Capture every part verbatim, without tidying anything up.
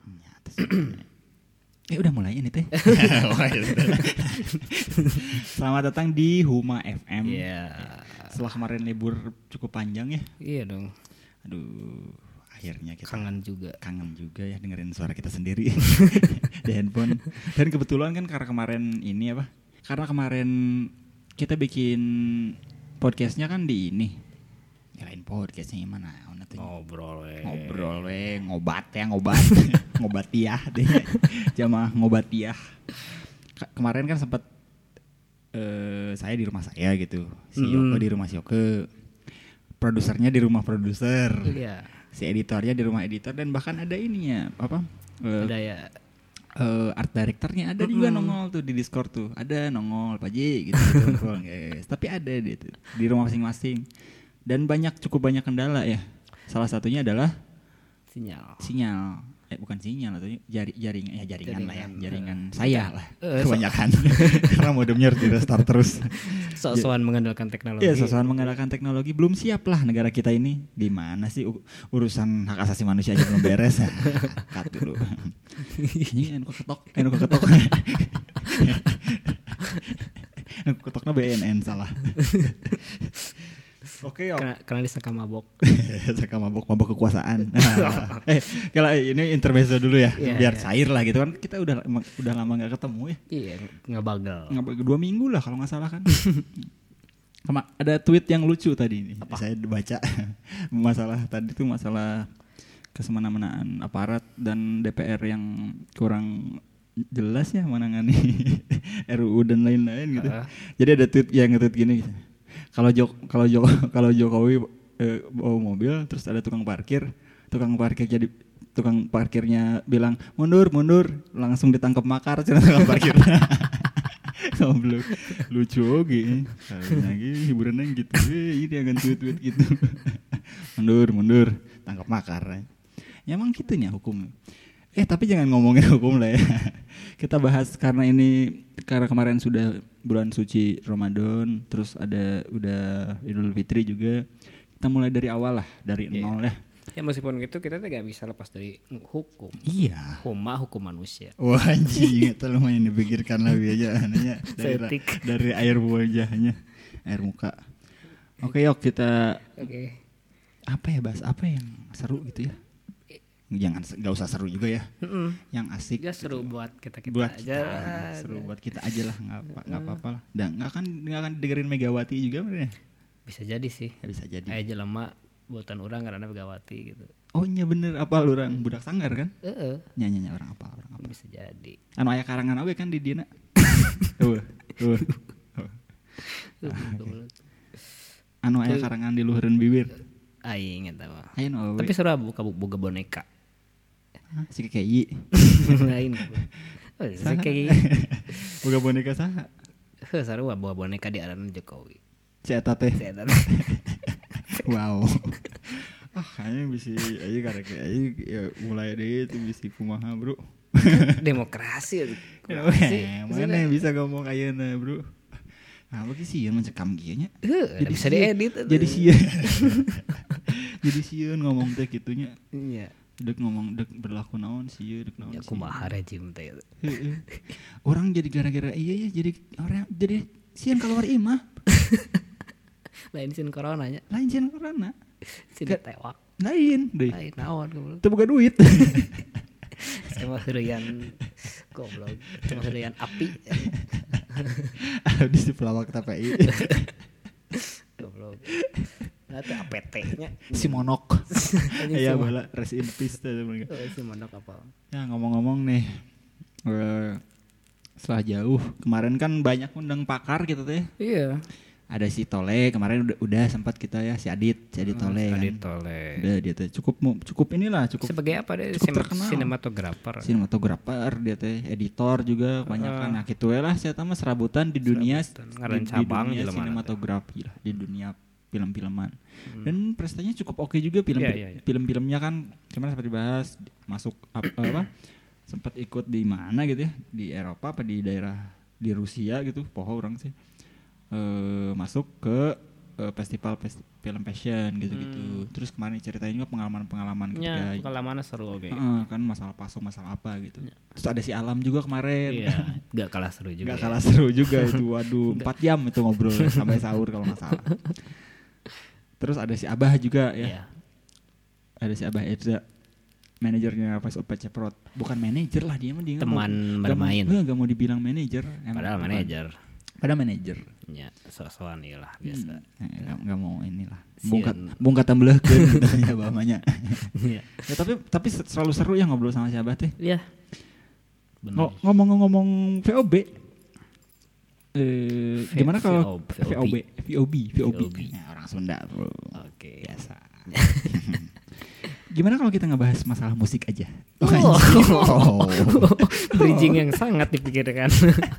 Ya, eh udah mulai ini teh. Selamat datang di Huma F M. Iya. Yeah. Setelah kemarin libur cukup panjang ya. Iya dong. Aduh, akhirnya kita kangen juga. Kangen juga ya dengerin suara kita sendiri di handphone. Dan kebetulan kan karena kemarin ini apa? Karena kemarin kita bikin podcastnya kan di ini. Kirain podcastnya gimana? Ngobrol we. Ngobrol we, ngobat ya, ngobat. Ngobatiah deh. Jamaah ngobatiah. K- kemarin kan sempat uh, saya di rumah saya gitu. Si mm. Yoko di rumah si Yoko. Produsernya di rumah produser. Iya. Si editornya di rumah editor dan bahkan ada ininya, apa? Uh, ada ya. Uh, art directornya ada mm-hmm. juga nongol tuh di Discord tuh. Ada nongol Pak Ji gitu, gitu nongol, guys. Tapi ada dia tuh di rumah masing-masing. Dan banyak cukup banyak kendala ya. Salah satunya adalah sinyal. Sinyal. Eh bukan sinyal atau jari jaringan ya jaringan, jaringan lah ya. Jaringan uh, saya lah. Uh, kebanyakan. Karena modemnya harus di restart terus. Sok-sokan mengandalkan teknologi. Iya, sok-sokan mengandalkan teknologi. Belum siap lah negara kita ini. Di mana sih u- urusan hak asasi manusia aja belum beres. Cut dulu. Ini anu ketok, anu ketok. Anu ketoknya B N N salah. Oke, okay, karena, karena disangka mabok. Sangka mabok, mabok kekuasaan. Nah, eh, kalau ini intermezzo dulu ya, yeah, biar yeah. cair lah gitu kan. Kita udah udah lama nggak ketemu ya. Iya, nggak bagal. Nggak dua minggu lah kalau nggak salah kan. Kema- ada tweet yang lucu tadi ini. Apa? Saya baca masalah tadi tuh masalah kesemena-menaan aparat dan D P R yang kurang jelas ya menangani R U U dan lain-lain gitu. Uh. Jadi ada tweet yang nge-tweet gini gitu. Kalau Jok kalau Jok kalau Jokowi eh, bawa mobil terus ada tukang parkir, tukang parkir jadi tukang parkirnya bilang mundur mundur langsung ditangkap makar cina tukang parkir. Goblok. Lucu oge. Lagi hiburannya gitu. Eh, ini akan tweet-tweet gitu. Mundur mundur tangkap makar. Ya emang gitunya hukum. Eh tapi jangan ngomongin hukum lah ya. Kita bahas karena ini karena kemarin sudah bulan suci Ramadan, terus ada udah Idul Fitri juga. Kita mulai dari awal lah, dari yeah. nol ya. Ya meskipun gitu kita tidak bisa lepas dari hukum. Iya. Huma hukum manusia. Wah anjing, itu lumayan dipikirkan lebih aja anehnya dari, dari air wajahnya, air muka. Oke, yuk kita. Oke. Okay. Apa ya bahas apa yang seru gitu ya? Jangan nggak usah seru juga ya, mm-mm. yang asik. Ya seru gitu. Buat kita kita buat aja. Kita, seru buat kita aja lah, nggak nggak apa-apa lah. Dan nggak akan nggak akan dengerin Megawati juga bener. Bisa jadi sih. Ya, bisa jadi. Aja lama buatan orang karena Megawati gitu. Oh iya bener, apa orang budak sanggar kan? Heeh. Uh-uh. Nyanyinya orang apa orang apa? Bisa jadi. Anu aya karangan awe kan di diena. Tuh tuh. Anu aya karangan di luhureun bibir. Aing eta mah. Tapi seru buka boga boneka. Hah, si Kei. Lain. Oh, si Kei. Boga boneka saha? Heuh, sarua bawa boneka di aran Jokowi. Si eta teh. Si eta. Wow. Ah, kayaknya bisa aja karek aja ya mulai deh itu bisa kumaha, Bro. Demokrasi. Demokrasi. Mana bisa ngomong ayeuna, Bro? Nah, bagi sieun mencekam kieu nya. Jadi bisa diedit. Jadi sieun. Jadi sieun ngomong teh kitunya. Iya. Dek ngomong dek berlaku naon sieun dek naon. Ya kumaha rejim teh. Orang jadi gara-gara iya ya jadi orang jadi sieun keluar imah. Lain sieun corona nya. Lain sieun corona. Sieun tewak. Lain deui. Lain naon goblok. Teu boga duit. Sama heureyan goblok. Sama heureyan api. Di si pelawak T P I. Goblok. Nah, itu A P T-nya. Si Monok. Iya, bala rest in peace teh mereka. Oh, si Monok apa? Ya, ngomong-ngomong nih. Uh, setelah jauh, kemarin kan banyak undang pakar gitu teh. Iya. Ada si Tole, kemarin udah, udah sempat kita ya si Adit, si Adit Tole hmm, kan. Adit Tole. Udah dia teh cukup cukup inilah, cukup sebagai apa deh? Cukup terkenal. Sinematografer. Sinematografer dia teh, editor juga banyak kan. Nah, kitu lah saya tahu serabutan di dunia serabutan. di, di dunia sinematografi lah, di dunia film-filman. Hmm. Dan prestasinya cukup oke juga film yeah, yeah, yeah. film-filmnya kan. Cuman seperti bahas masuk apa, apa sempat ikut di mana gitu ya, di Eropa apa di daerah di Rusia gitu, poho orang sih. Uh, masuk ke uh, festival film passion gitu-gitu. Hmm. Terus kemarin ceritain juga pengalaman-pengalaman ketika ya, pengalamannya seru oke. Okay. Uh, kan masalah pasung masalah apa gitu. Ya. Terus ada si Alam juga kemarin. Iya, gak kalah seru juga. Gak ya. kalah seru juga itu. Waduh, empat jam itu ngobrol sampai sahur kalau nggak salah. Terus ada si Abah juga ya. Iya. Ada si Abah Edza, manajernya Voice of Ceprot. Bukan manajer lah dia mah dia. Teman bermain. Gak mau dibilang manajer. Padahal manajer. Pada manajer. Ya, so-soan iyalah biasa. Hmm, enggak mau inilah. Bungkat bungkat tambeleukeun gitu ya bamanya. Iya. Ya tapi tapi selalu seru ya ngobrol sama si Abah teh. Iya. Benar. Ngomong-ngomong V O B. Eh gimana kalau V O B? V O B, V O B. Ya, orang Sunda, Bro. Oke. Biasa. Gimana kalau kita ngebahas masalah musik aja? Oh. oh. Bridging yang sangat dipikirkan.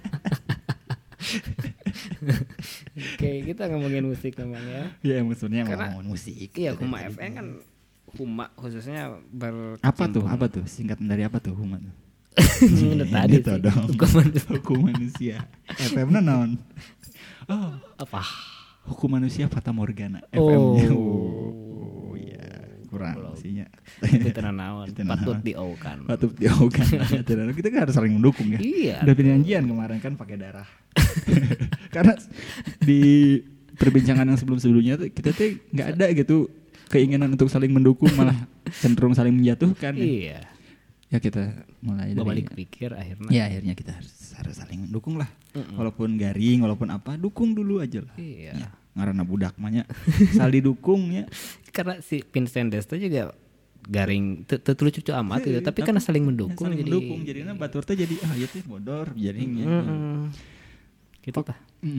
Oke, kita ngomongin musik namanya. Iya, maksudnya ngomongin musik. Iya, Huma F M kan Huma khususnya ber apa tuh? Apa tuh? Singkatan dari apa tuh Huma tuh? Udah tadi tuh dong. Hukum manusia. F M-nya naon? Oh, apa? Hukum manusia Fata Morgana. Oh. F M-nya. Oh, iya. Kurang isinya. Itu tenan naon. Patut diaukan. Patut diaukan. Kita kan harus saling mendukung ya. Iya. Udah perjanjian kemarin kan pakai darah. Karena di perbincangan yang sebelum-sebelumnya tuh kita tuh nggak ada gitu keinginan untuk saling mendukung, malah cenderung saling menjatuhkan. Iya. Ya kita mulai dari balik pikir akhirnya. Ya akhirnya kita harus harus saling mendukung lah. Mm-mm. Walaupun garing, walaupun apa, dukung dulu aja lah. Iya. Ya, ngarana budak mah nya sal didukungnya. Karena si Vincent Desta juga garing teu lucu amat gitu, tapi karena saling mendukung saling jadi mendukung jadinya batur teh jadi ah ieu teh bodor jadinya. Gitu tah.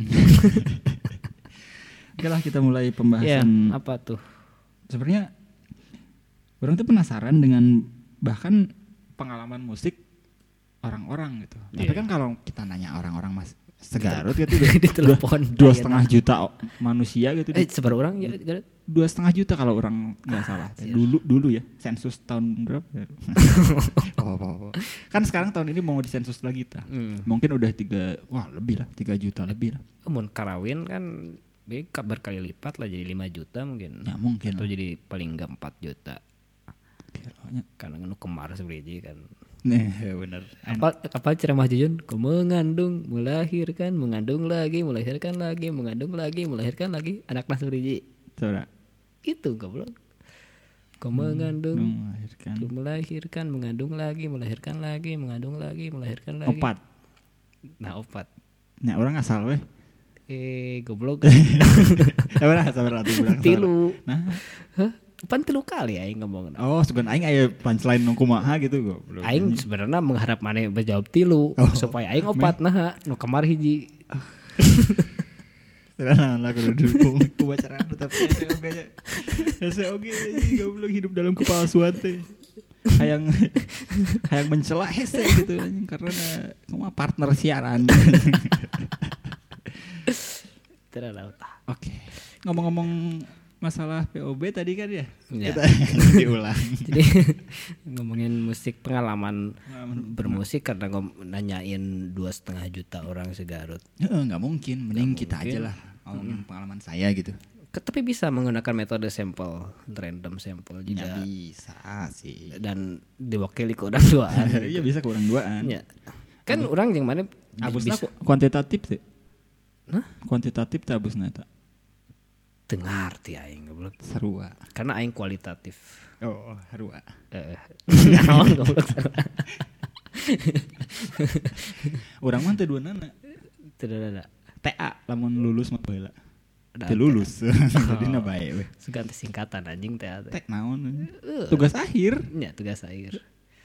Oke lah kita mulai pembahasan. Ya, apa tuh? Sebenarnya orang tuh penasaran dengan bahkan pengalaman musik orang-orang gitu. Yeah. Tapi kan kalau kita nanya orang-orang Mas segarut gitu di telepon dua setengah juta manusia gitu. Eh sebar orang ya dua setengah juta kalau orang nggak ah, salah. Siap. Dulu dulu ya sensus tahun berapa? oh, oh, oh. Kan sekarang tahun ini mau disensus lagi ta. Hmm. Mungkin udah tiga wah lebih lah tiga juta lebih lah. Mun karawin kan berkali lipat lah jadi lima juta mungkin. Ya mungkin. Atau jadi paling enggak empat juta. Karena nu kemar sebenarnya kan. Nih, benar. Apa apa ceramah Jujun? Kau mengandung, melahirkan, mengandung lagi, melahirkan lagi, mengandung lagi, melahirkan lagi anak nas beriji. Coba. Itu goblok. Kau mengandung, melahirkan, melahirkan, mengandung lagi, melahirkan lagi, mengandung lagi, melahirkan lagi. Opat. Nah, opat. Nah, orang asal weh. Eh, goblok. Sabar, sabar atuh urang. Tilu. Nah, hah? Pan tilu kali aing ngomong. Oh, sugan aing aya punchline nu kumaha gitu goblok. Aing sebenarnya mengharap maneh berjawab tilu oh. supaya aing opat nah nu kamar hiji. Sebenarnya lah kudu dukung kebacaraan tapi S O G nya. S O G goblok hidup dalam kepalsuan teh. Hayang hayang mencela hese gitu karena kumaha partner siaran. Terlalu. Oke. Ngomong-ngomong masalah P O B tadi kan ya, ya. Kita diulang. Jadi ngomongin musik pengalaman bermusik karena ngom- nanyain dua setengah juta orang segarut. Ya, nggak mungkin, mending gak kita mungkin. Aja lah ngomongin hmm. pengalaman saya gitu. Tapi bisa menggunakan metode sampel, random sampel juga. Ya, bisa sih. Dan diwakili ke orang duaan. Iya bisa ke orang duaan. Ya. Kan Abu, orang yang mana abusna kuantitatif sih. Hah? Kuantitatif tak abusna tak. Dengar ti aing goblok sarua karena aing kualitatif. Oh sarua heeh naon goblok sarua urang mah teh duanana teu ada T A lamun lulus mah baheula teu lulus jadi na bae we ganti singkatan anjing T A teh tek naon tugas akhir nya tugas akhir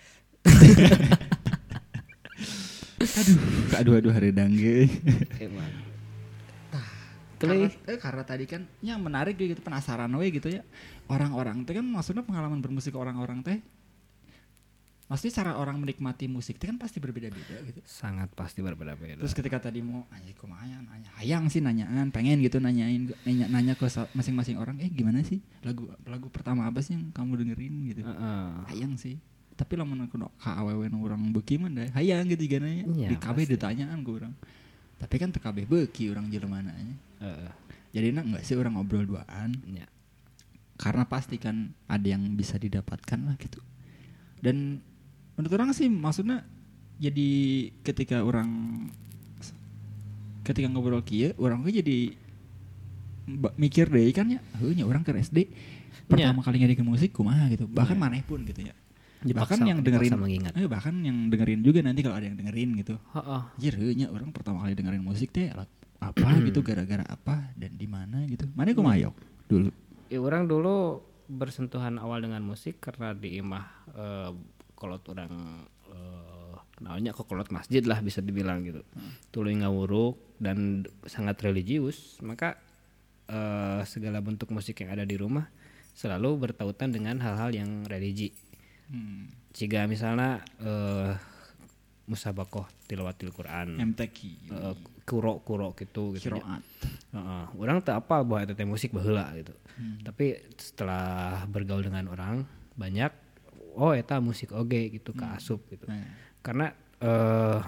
aduh aduh aduh hareudang ge emang Karena, eh, karena tadi kan yang menarik gitu penasaran we gitu ya orang-orang teh kan maksudnya pengalaman bermusik orang-orang teh maksudnya cara orang menikmati musik teh kan pasti berbeda-beda gitu sangat pasti berbeda-beda terus ketika tadi mau anjay kumaha nanya hayang sih nanyaan pengen gitu nanyain nanya, nanya ke masing-masing orang eh gimana sih lagu lagu pertama apa sih yang kamu dengerin gitu uh-uh. hayang sih tapi lamun aku ka awewe orang beuki mah da hayang gitu gananya ya, di kabeh ditanyaan ke orang tapi kan teu kabeh beuki urang jelema nanya. Uh, Jadi enggak sih orang ngobrol duaan. Ya. Karena pasti kan ada yang bisa didapatkan lah gitu. Dan menurut orang sih maksudnya jadi ketika orang ketika ngobrol kieu orang tuh jadi mikir deh kan ya, heunya orang ke S D pertama kali ngadikin musik kumaha gitu. Bahkan ya. maneh pun gitu ya. Dipaksa, bahkan yang dengerin eh, bahkan yang dengerin juga nanti kalau ada yang dengerin gitu. Heeh. Anjir heunya orang pertama kali dengerin musik teh apa gitu gara-gara apa dan di mana gitu. Maneh kumaha yok dulu? Ya orang dulu bersentuhan awal dengan musik karena di imah uh, kolot orang uh, namanya kok kolot masjid lah bisa dibilang gitu. Hmm. Tuluy ngawuruk dan sangat religius, maka uh, segala bentuk musik yang ada di rumah selalu bertautan dengan hal-hal yang religi. Hmm. Jika misalnya uh, musabakoh tilawatil Quran, M T Q, uh, kuro-kuro gitu gitu. Kiroat. Uh, orang tak apa buat teh musik baheula gitu. Hmm. Tapi setelah bergaul dengan orang banyak, oh eta musik oge gitu hmm. kaasup gitu. Hmm. Karena uh,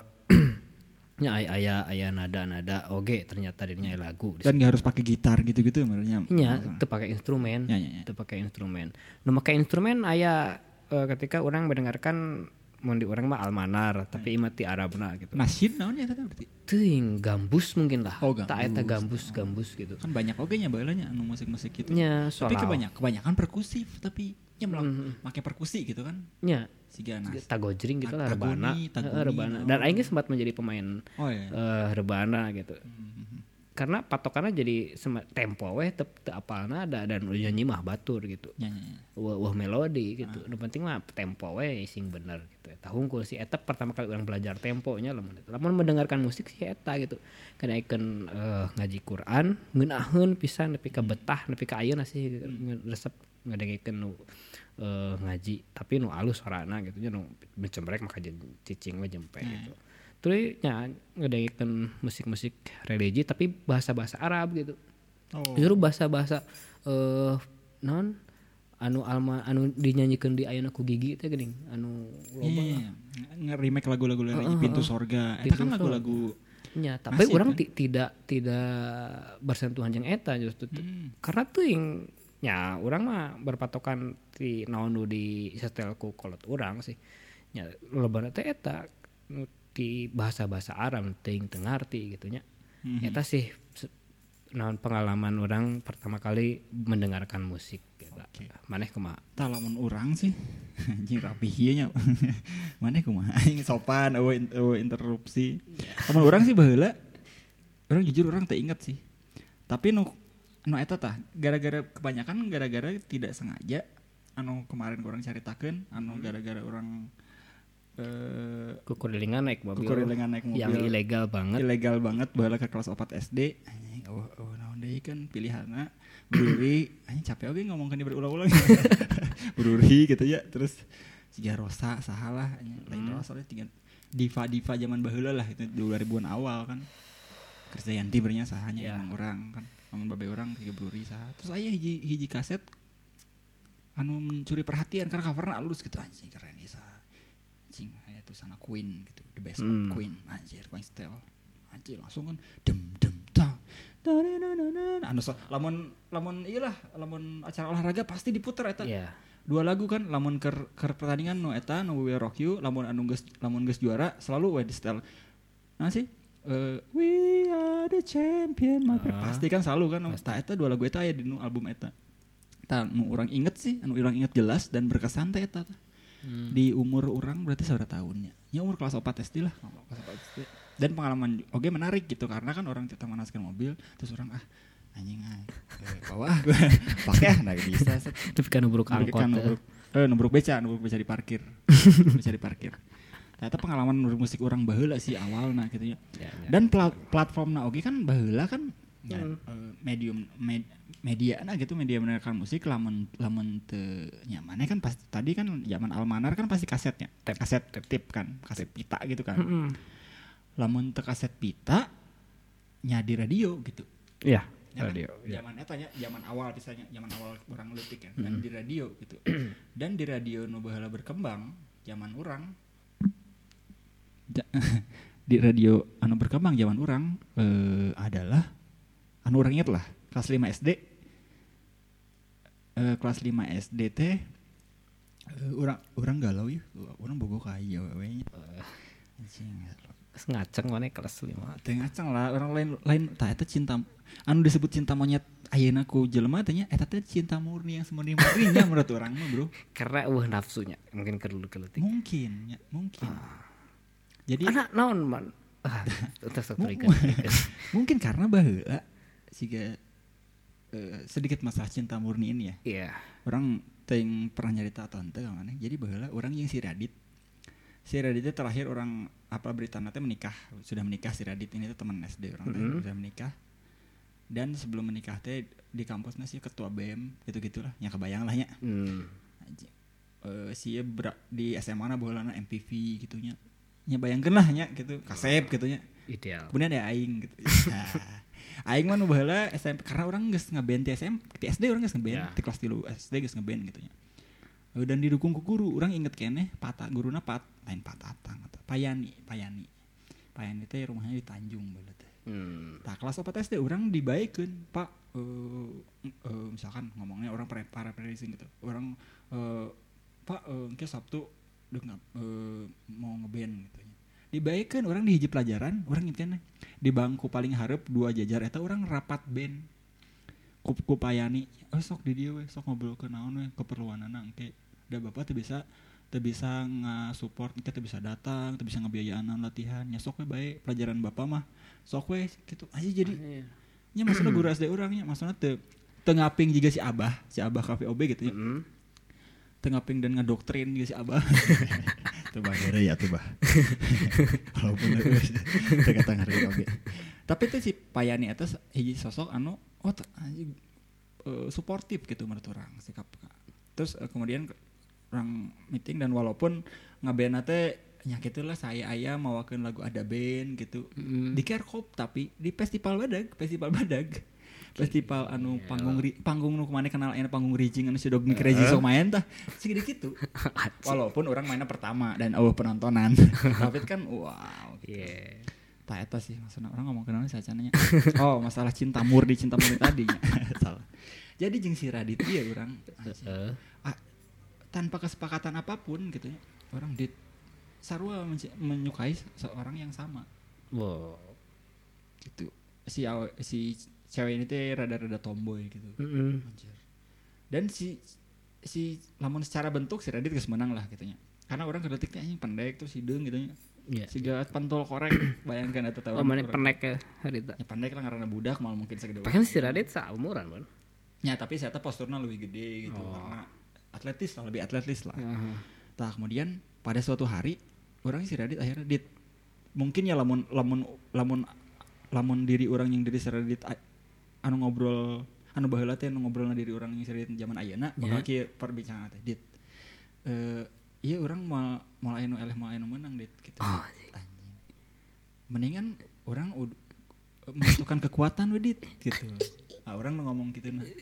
nya aya aya nada-nada oge ternyata dirinya lagu. Dan nggak harus pakai gitar gitu-gitu sebenarnya. Iya, teu pakai instrumen. Ya, ya, ya. Teu pakai instrumen. Nu make instrumen aya uh, ketika orang mendengarkan mun di urang mah almanar tapi imah ti Arabna gitu. Nasyid naon eta berarti? Teuing gambus mungkin lah. Oh, tak eta gambus gambus gitu. Kan banyak oge nya baheulanya anu musik-musik gitu. Nya, tapi kebanyakan kebanyakan perkusif tapi nya mm-hmm. make perkusi gitu kan. Nya. Siga nas. Tagojring gitu lah rebana. Heeh rebana. Dan aing sempat menjadi pemain oh, iya. uh, rebana gitu. Mm-hmm. Karena patokannya jadi tempo weh teu teu apalna da dan nyanyi mah batur gitu. Ya, ya, ya. Wah, wah melodi gitu. Nu ah. penting mah tempo weh sing bener gitu. Eta hungkul si eta pertama kali orang belajar temponya lamun eta. Lamun mendengarkan musik si eta gitu. Kana ikeun uh, ngaji Quran, ngeunaheun pisan nepi ka betah, nepi ka ayeuna sih resep ngadengikeun nu uh, ngaji, tapi nu alus suarana gitu nya nu mencembrek maka cicing we jempe hmm. gitu. Terus nya ngedengikeun musik-musik religi tapi bahasa-bahasa Arab gitu. Oh. Justru bahasa-bahasa eh uh, non anu alma anu dinyanyikan di Ayeuna Ku Gigi teh geuning anu loba yeah, nge-remake lagu-lagu religi uh, uh, Pintu Sorga. Eta kan lagu-lagu nya, tapi orang kan? t- tidak tidak bersentuhan jeung eta justru hmm. karena tuh yang nya urang mah berpatokan ti naon nu di setel ku kolot urang sih. Nya lobana teh eta di bahasa-bahasa Arab teuing teu ngarti gitu nya. Mm-hmm. Eta sih naon pengalaman orang pertama kali mendengarkan musik gitu. Okay. Maneh kumaha? Tah lamun urang sih anjing rapih ieu nya. Maneh kumaha? Aing sopan eueuh eueuh interupsi. Lamun urang sih baheula urang jujur urang teu inget sih. Tapi nu nu eta tah gara-gara kebanyakan gara-gara tidak sengaja anu kemarin urang caritakeun anu gara-gara urang Uh, kukurilingan naik mobil, kukurilingan naik mobil yang ilegal banget, ilegal banget baheula ke kelas opat S D. Anjing oh oh naon deui kan pilihanna Bruri, anjing capek oge ngomongkeun berulang-ulang. Bruri gitu ya, terus siga Rosa sahalah anjing lain hmm. Rosa tiga diva-diva zaman baheula lah itu dua ribuan awal kan. Krisdayanti bernya sahanya yeah. Emang orang kan, lamun babe urang tiga Bruri saha. Terus aya hiji hiji kaset anu mencuri perhatian karena coverna alus gitu anjing keren ieu anjing aya tulisan Queen gitu the best hmm. of Queen anjir Queen style anjir langsung kan dem dem ta anu so, lamun lamun iyalah lamun acara olahraga pasti diputer eta yeah. Dua lagu kan lamun keur keur pertandingan nu eta nu We Rock You lamun anu geus lamun geus juara selalu we di style nah sih uh, We Are the Champion uh, pasti kan selalu kan eta eta dua lagu eta aya di nu album eta tah nu urang inget sih anu urang inget jelas dan berkesan teh eta Hmm. Di umur orang berarti seberapa tahunnya? Ya umur kelas opat S D lah, kelas opat S D. Dan pengalaman oke okay, menarik gitu karena kan orang kita manaskan mobil terus orang ah anjing ah eh, bawa ah gue pakai ah nggak bisa. Tapi kan nubruk angkot. Kan nubruk, eh nubruk beca, nubruk beca di parkir, beca di parkir. Ternyata pengalaman musik orang baheula sih awalna gitu ya. Ya, ya. Dan pla- platformna oke okay, kan baheula kan ya, hmm. uh, medium med, media nah gitu media mendengarkan musik lamun lamun teu nyamannya kan pasti tadi kan zaman almanar kan pasti kasetnya tep, kaset tip, tip kan kaset pita gitu kan mm-hmm. Lamun teu kaset pita nya di radio gitu iya ya, radio zaman eta nya zaman awal misalnya zaman awal orang leutik kan mm-hmm. Dan di radio gitu dan di radio nu baheula berkembang zaman urang di radio anu berkembang zaman urang uh, adalah anu urang inget lah kelas lima S D uh, kelas lima S D teh uh, orang orang galau ya, orang bogo kaya we nya. Anjing. Ngaceng mana kelas lima. Teh ngaceng lah, orang lain lain tah eta cinta anu disebut cinta monyet ayeuna ku jelema teh nya eta teh cinta murni yang semurni-murninya menurut orang mah, Bro. Karena eueuh nafsunya, mungkin keleutik. Mungkin, ya, mungkin. Ah. Jadi anak naon man? Ah, terus mungkin karena baheula siga uh, sedikit masalah cinta murni ini ya. Iya. Yeah. Orang teuing pernah nyarita atau henteu ka maneh. Jadi baheula orang yang si Radit. Si Radit itu terakhir orang apa berita nanti menikah, sudah menikah si Radit ini tuh teman S D orang mm-hmm. sudah menikah. Dan sebelum menikah teh di kampusnya sih ketua B E M gitu-gitulah, nya kebayang lah nya. Mm. Uh, si ber- di S M A na baheulana M P V gitunya. Nya bayangkeun lah nya gitu, kasep gitu nya. Ideal. Kemudian ada aing gitu. Nah, aing mah nu baheula S M P karena orang geus ngeband di S M P, di S D orang geus ngeband, yeah. Di kelas tilu S D geus ngeband gitu nya. Dan didukung ku guru, orang inget keneh Pata, guruna Pat, lain Pat Atang atau Payani, Payani. Payani teh rumahnya di Tanjung bae teh. Hmm. Tah kelas opat S D orang dibaikeun, Pak, uh, uh, misalkan ngomongnya orang para prediksi gitu. Orang uh, Pak uh, engke Sabtu deuk uh, mau ngeband gitu nya. Dibaikeun orang di hiji pelajaran, orang inget keneh di bangku paling hareup dua jajar eta orang rapat band. Ku, ku Payani, oh sok di dia we, sok ngobrol ke naon we, keperluanana engke. Da bapak teu bisa teu bisa nga-support, engke teu bisa datang, teu bisa ngabiayaan latihan, nya sok we bae pelajaran bapak mah. Sok we gitu. Aja jadi nya maksudna guru S D urang nya maksudna teu teu ngaping jiga si Abah, si Abah K V O B gitu nya. Heeh. Teu ngaping dan ngadoktrin jiga si Abah. Teu bagere ya teu bah. Walaupun teu kata ngarti oge. Tapi teh si Payani eta hiji sosok anu oh anjing uh, suportif gitu menurut orang sikap. Terus uh, kemudian orang meeting dan walaupun ngeband teh nya kitulah saya aya mawakeun lagu ada band gitu. Mm. Di Kerkop tapi di festival badag, festival badag. Festival anu yeah. panggung ri, panggung nu kumaha kenal aya panggung Rijing anu si Dog uh. Crazy sok main tah. Segede kitu. Walaupun orang mainnya pertama dan eueuh penontonan. Tapi kan wow. Gitu. Yeah. Tah eta sih maksudna orang ngomong kenal sacananya. Oh, masalah cinta murni cinta murni tadinya. Salah. Jadi jeung si Radit dia urang uh. ah, tanpa kesepakatan apapun gitu ya. Orang dit sarua men- menyukai seorang yang sama. Wow. Gitu. Si si cewek ini teh rada-rada tomboy gitu. Mm-hmm. Dan si si lamun secara bentuk si Radit geus menang lah gitu nya. Karena orang kedetiknya anjing pendek terus hideung gitu nya. Yeah. Siga pantol korek bayangkan eta teh. Oh mana pendek ya harita. Ya pendek lah karena budak mal mungkin segede. Paling si Radit saumuran ban. Ya tapi saya teh posturnya lebih gede gitu oh. Karena atletis lah lebih atletis lah. Uh-huh. Tah kemudian pada suatu hari orang si Radit akhirnya dit mungkin ya lamun lamun lamun lamun diri orang yang diri si Radit anu ngobrol anu baheula teh anu ngobrolna diri orang yang si Radit zaman ayeuna bakal kieu perbincangan teh dit. Eh iya orang mau mau anu eleh mau anu menang dit gitu. Oh, anjing. Mendingan orang ud- membutuhkan kekuatan we dit gitu. Ah orang ngomong gitu nah.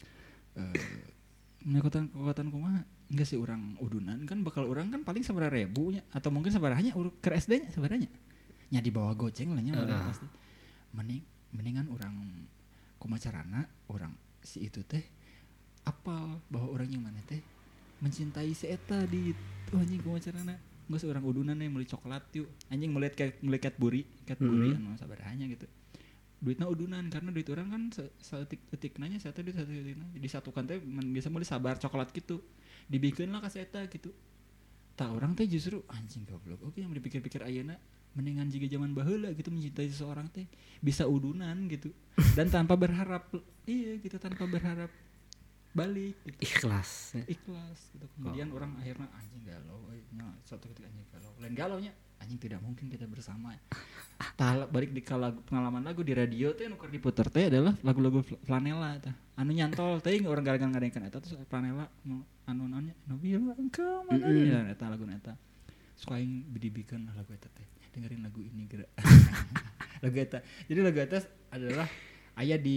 Eh kekuatan kekuatan kumaha? Enggak sih orang udunan kan bakal orang kan paling sabaraha ribu nya atau mungkin sabarahanya ke S D nya sabarahanya. Nya di bawah goceng lah nya uh. pasti. Mending mendingan orang kumaha carana orang si itu teh apal bahwa orang yang mana teh mencintai si eta di tuh anjing kumaha carana geus urang udunan nih meuli coklat yuk anjing melihat kayak melihat buri cat buri mm-hmm. anu sabarahanya gitu duitna udunan karena duit orang kan saeutik-eutik nanya saya teh duit saeutikna disatukan teh biasa meuli sabar coklat gitu dibikeun lah ka si eta gitu tah orang teh justru anjing goblok oke yang dipikir-pikir ayeuna mendingan jiga zaman baheula gitu mencintai seseorang teh bisa udunan gitu dan tanpa berharap iya gitu tanpa berharap balik gitu. Ikhlas ya. Ikhlas gitu. Kemudian oh. orang akhirnya anjing galau nya suatu ketika anjing galau lain galau nya anjing tidak mungkin kita bersama tah balik di lagu, pengalaman lagu di radio teh nu keur diputer teh adalah lagu-lagu Flanela tah anu nyantol teh orang gara-gara ngadengkeun eta terus Flanela anu naonnya nu bilang engkau mana ya eta lagu eta suka aing bidibikeun lagu eta teh dengerin lagu ini geura lagu eta jadi lagu eta adalah aya di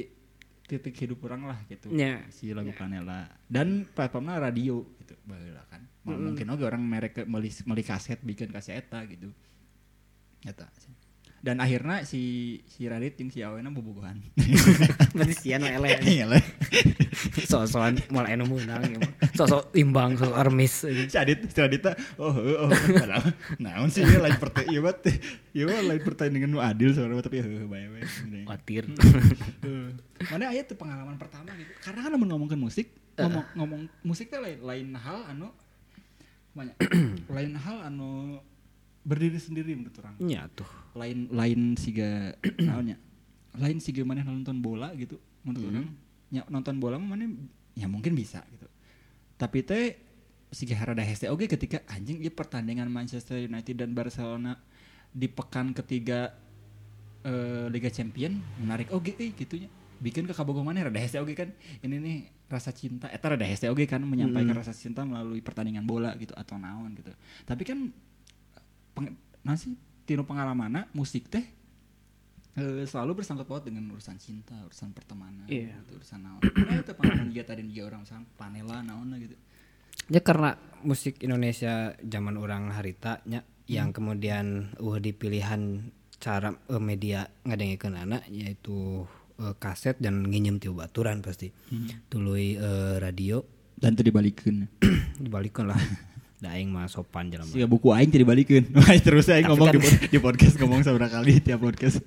titik hidup orang lah gitu yeah. Si lagu yeah. Panela dan platformnya radio gitu baheula kan mm-hmm. Mungkin oge orang merek meuli meuli kaset bikin kaset eta gitu eta Dan akhirnya si si Radit jeung si Awena bobogohan. Berarti sian we eleh. Iya lah. So-soan moal anu meunang. So-so imbang, so armis. Si Adit, si Radit oh oh padahal naon sih ieu lain pertanyaan ieu mah ieu mah lain pertanyaan nu adil sebenarnya tapi heuh bae we. Watir. Mana aya teh pengalaman pertama gitu. Karena kan lamun ngomongkeun musik, ngomong ngomong musik teh lain lain hal anu banyak lain hal anu berdiri sendiri menurut orang. Iya tuh. Lain lain siga naonnya. Lain siga maneh nonton bola gitu menurut orang. Ya nonton bola mah maneh ya mungkin bisa gitu. Tapi teh siga harada hese oge ketika anjing ieu pertandingan Manchester United dan Barcelona di pekan ketiga uh, Liga Champion menarik oge euy gitunya. Bikin ke kabogoh maneh rada hese oge kan. Ini nih rasa cinta eta rada hese oge kan menyampaikan hmm. rasa cinta melalui pertandingan bola gitu atau naon gitu. Tapi kan Peng, nasi tino pengalamanna musik teh e, selalu bersangkut paut dengan urusan cinta, urusan pertemanan, yeah. gitu, urusan naon. Nah itu pengalaman dia tadi dia orang sang panela naon gitu. Ya karena musik Indonesia zaman orang haritanya hmm. yang kemudian uh di pilihan cara uh, media ngadengikeun anak yaitu uh, kaset dan nginjem ti baturan pasti. Hmm. Tuluy uh, radio dan teu dibalikeun. Dibalikeun lah. Da aing mah sopan jalan. Siga buku aing teh dibalikeun. Terus aing ngomong kan di, di podcast ngomong saudara kali tiap podcast.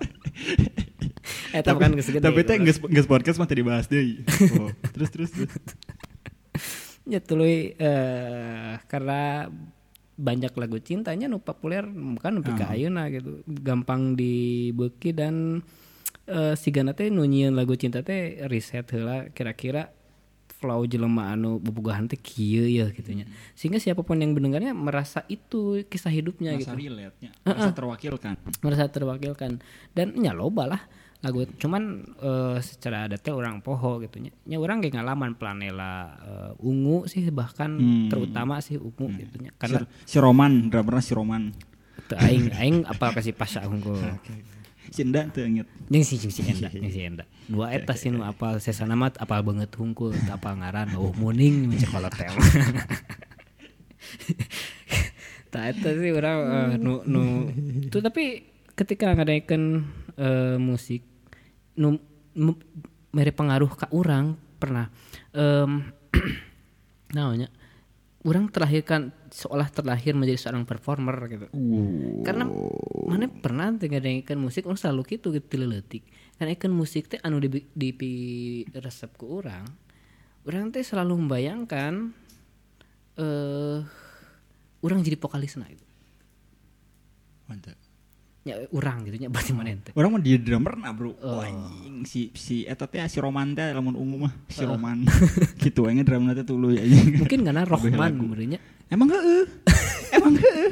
Eh tapi kan geus gede. Tapi teh geus geus podcast mah teh dibahas deui. Oh, terus terus terus. Ya tuluy eh karena banyak lagu cintanya nu populer kan nepi ka ayeuna gitu. Gampang dibeuki dan eh sigana teh nu nyieun lagu cinta teh riset heula kira-kira flow jelema anu bobogohan teh kieu ya gitunya. Sehingga siapapun yang mendengarnya merasa itu kisah hidupnya merasa gitu. Relate-nya, merasa uh-uh. terwakilkan. Merasa terwakilkan. Dan nya loba lah lagu cuman uh, secara detail orang poho gitunya. Nya urang ge ngalaman Planela uh, Ungu sih bahkan hmm. terutama sih Ungu hmm. gitunya. Karena si, si Roman, drummer si Roman. Teu aing aing apal ka si Pasha hungkul. Si Enda teu inget. Jeung si si Enda, jeung si Enda. Dua eta sih nu apal sesana mah apal banget hungkul, apal ngaran oh muning mencek hotel. Tah eta sih urang uh, nu nu itu tapi ketika ngadaikeun uh, musik nu m- mere pengaruh ka urang pernah um, naonnya urang terlahirkan seolah terlahir menjadi seorang performer gitu. Uh. Karena mana pernah ngadaikeun musik urang selalu kitu gitu leutik. Ngadaikeun musik teh anu di di, di resep ku urang. Urang teh selalu membayangkan eh uh, urang jadi vokalisna gitu. Mantap. Ya urang gitu nya berarti mana teh. Urang mah dia drummer na, Bro. Oh. Anjing si si eta teh si Roman teh lamun ungu mah si uh. Roman. Kitu we nya drumna teh tuluy anjing. Mungkin karena Rohman benernya. Emang heeh. Emang heeh.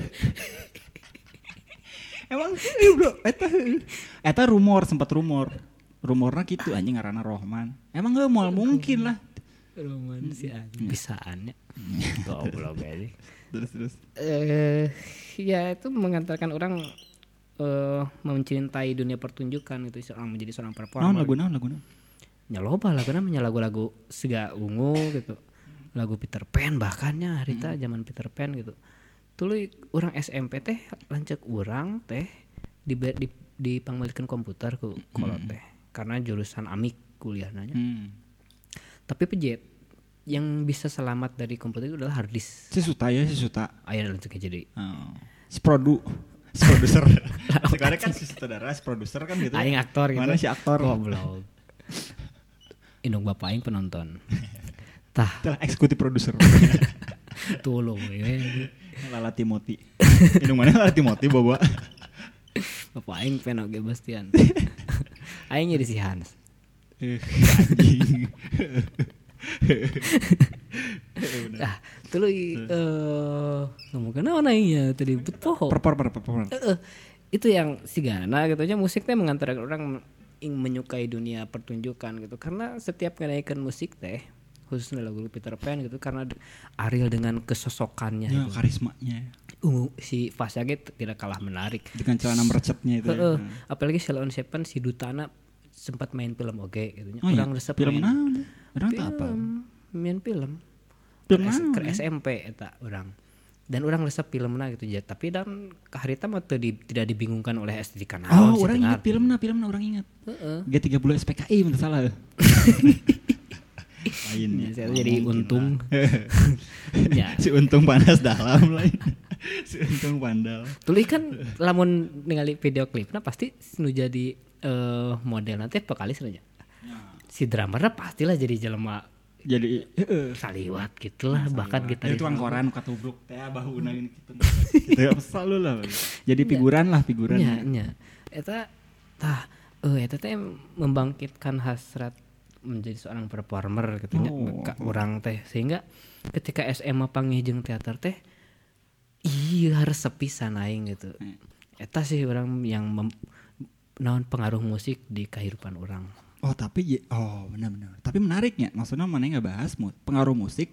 Emang heeh, Bro. Eta heeh. Eta rumor sempat rumor. Rumorna kitu anjing ngaranna Rohman. Emang heeh moal mungkin lah. Roman si anjing bisaannya. Goblok aja. Terus terus. Eh ya itu mengantarkan orang Uh, mencintai dunia pertunjukan itu seorang menjadi seorang performer. Naon lagu naon lagu naon? Nya loba lagu namanya lagu-lagu Siga Ungu gitu. Lagu Peter Pan bahkannya harita hmm. zaman Peter Pan gitu. Tuluy urang S M P teh lanceuk urang teh di di dipangmalikeun komputer ku kolot teh hmm. karena jurusan amik kuliahna nya. Hmm. Tapi pejet yang bisa selamat dari komputer itu adalah hard disk. Si Suta ya si Suta. Aya lanceuk jadi. Oh. Si Produ si produser. Sekarang kan si sutradara, si produser kan gitu. Aing aktor gitu. Mana si aktor? Goblok. Indung bapak aing penonton. Tah. Tah eksekutif produser. Tolong we. Lala Timothy. Indung mana Lala Timothy bawa. Bapak aing peno ge Bastian. Aing jadi si Hans. Anjing. Ah, tuluy eh ngomongkeun naon aing ya tadi betul. Performer performer. Heeh. Itu yang sigana gitu aja musik teh mengantarkan orang ing menyukai dunia pertunjukan gitu. Karena setiap ngadaikeun musik teh khususnya lagu Peter Pan gitu karena Ariel dengan kesosokannya ya, gitu. Karismanya. Uh, si Fasya gitu tidak kalah menarik. Dengan celana merecetnya itu. Uh, uh, ya. Apalagi Sheldon Shepen si Dutana sempat main film oge gitu nya. Oh, Urang iya? resep film naon? Urang teu apa? Main film. Film ke, naon? Ke S M P eta urang. dan orang resep filmna gitu ya, tapi dan kaharita mah di, tidak dibingungkan oleh estetika naon. Oh, orang ingat filmna, filmna orang ingat. Heeh. G tiga puluh S P K I mun salah. Lainnya. Saya jadi untung. Ya. Si untung panas dalam lain. Si untung pandal. Tuluy kan lamun ningali video klipna pasti nu jadi uh, model nanti vokalis aja. Ya. Si drummernya pastilah jadi jelema jadi uh, saliwat gitulah, bahkan kita itu tukang koran katubruk teh bahuuna ini gitu. Gitu selalu lah. Jadi figuran lah figuran. Nya nya. Eta tah eh eta teh membangkitkan hasrat menjadi seorang performer gitu nya oh, ka urang teh, sehingga ketika S M A panggih jeung teater teh iya harus sepisan aing gitu. Hmm. Eta sih orang yang mem, naon pengaruh musik di kehidupan orang. Oh tapi oh benar-benar. Tapi menariknya, maksudnya mana nggak bahas pengaruh musik?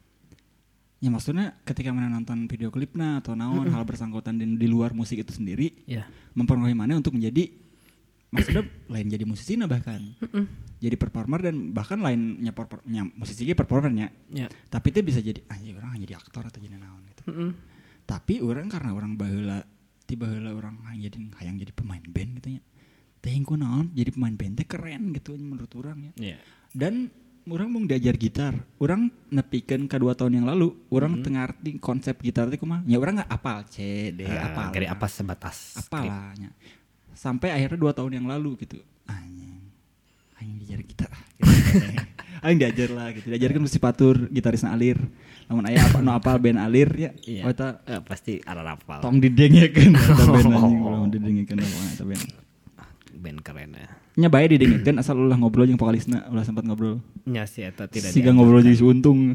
Ya maksudnya ketika mana nonton video klipnya atau naon mm-hmm. hal bersangkutan di, di luar musik itu sendiri, yeah. mempengaruhi mana untuk menjadi maksudnya lain jadi musisi nah bahkan mm-hmm. jadi performer dan bahkan lainnya performnya musisi ge performernya. Yeah. Tapi itu bisa jadi anjir orang jadi aktor atau jadi naon gitu. Mm-hmm. Tapi orang karena orang baheula tiba heula orang jadi hayang jadi pemain band gitu nya. Teh ku naon jadi pemain band teh keren gitu menurut orang ya. Yeah. Dan orang mau diajar gitar. Orang nepikeun ka dua tahun yang lalu, orang mm-hmm. teu ngarti konsep gitar teh kumaha. Ya orang enggak apal C, D, uh, apal. Gari apa sebatas apalah nya. Sampai akhirnya dua tahun yang lalu gitu. Anjing. Anjing diajar gitar. Gitu. Aing diajar lah gitu. Diajarkeun musik batur, gitarisna Alir. Lamun aya apa no apal band Alir ya. Iya. Oh eta uh, pasti arah apal. Tong didengekeun eta band anjing, belum didengekeun eta band. Band keren ya. Nya bae didengekeun asal ulah ngobrol jeung vokalisna, ulah sempat ngobrol. Nya si eta tidak. Siga ngobrol jeung si Untung.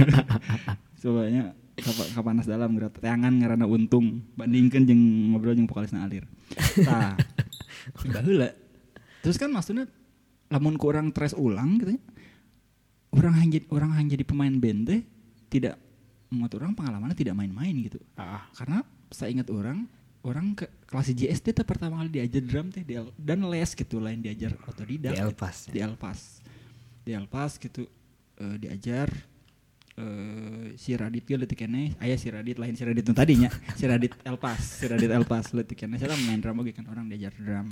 Cobanya ka panas dalam gerak tangan ngaranna Untung bandingkeun jeung ngobrol jeung vokalisna Alir. Tah. Baheula. Terus kan maksudnya lamun ku urang tres ulang gitu nya. Urang hang jadi urang hang jadi pemain band teh tidak menurut orang pengalamannya tidak main-main gitu. Ah. Karena saya ingat orang orang ke kelas J S D teh pertama kali diajar drum teh di, dan les gitu lain diajar otodidak di Elpas gitu. Di Elpas di Elpas gitu uh, diajar uh, si Radit ge leutik keneh aya si Radit lain si Radit nu tadinya si Radit Elpas si Radit Elpas leutik keneh saya main drum oge kan orang diajar drum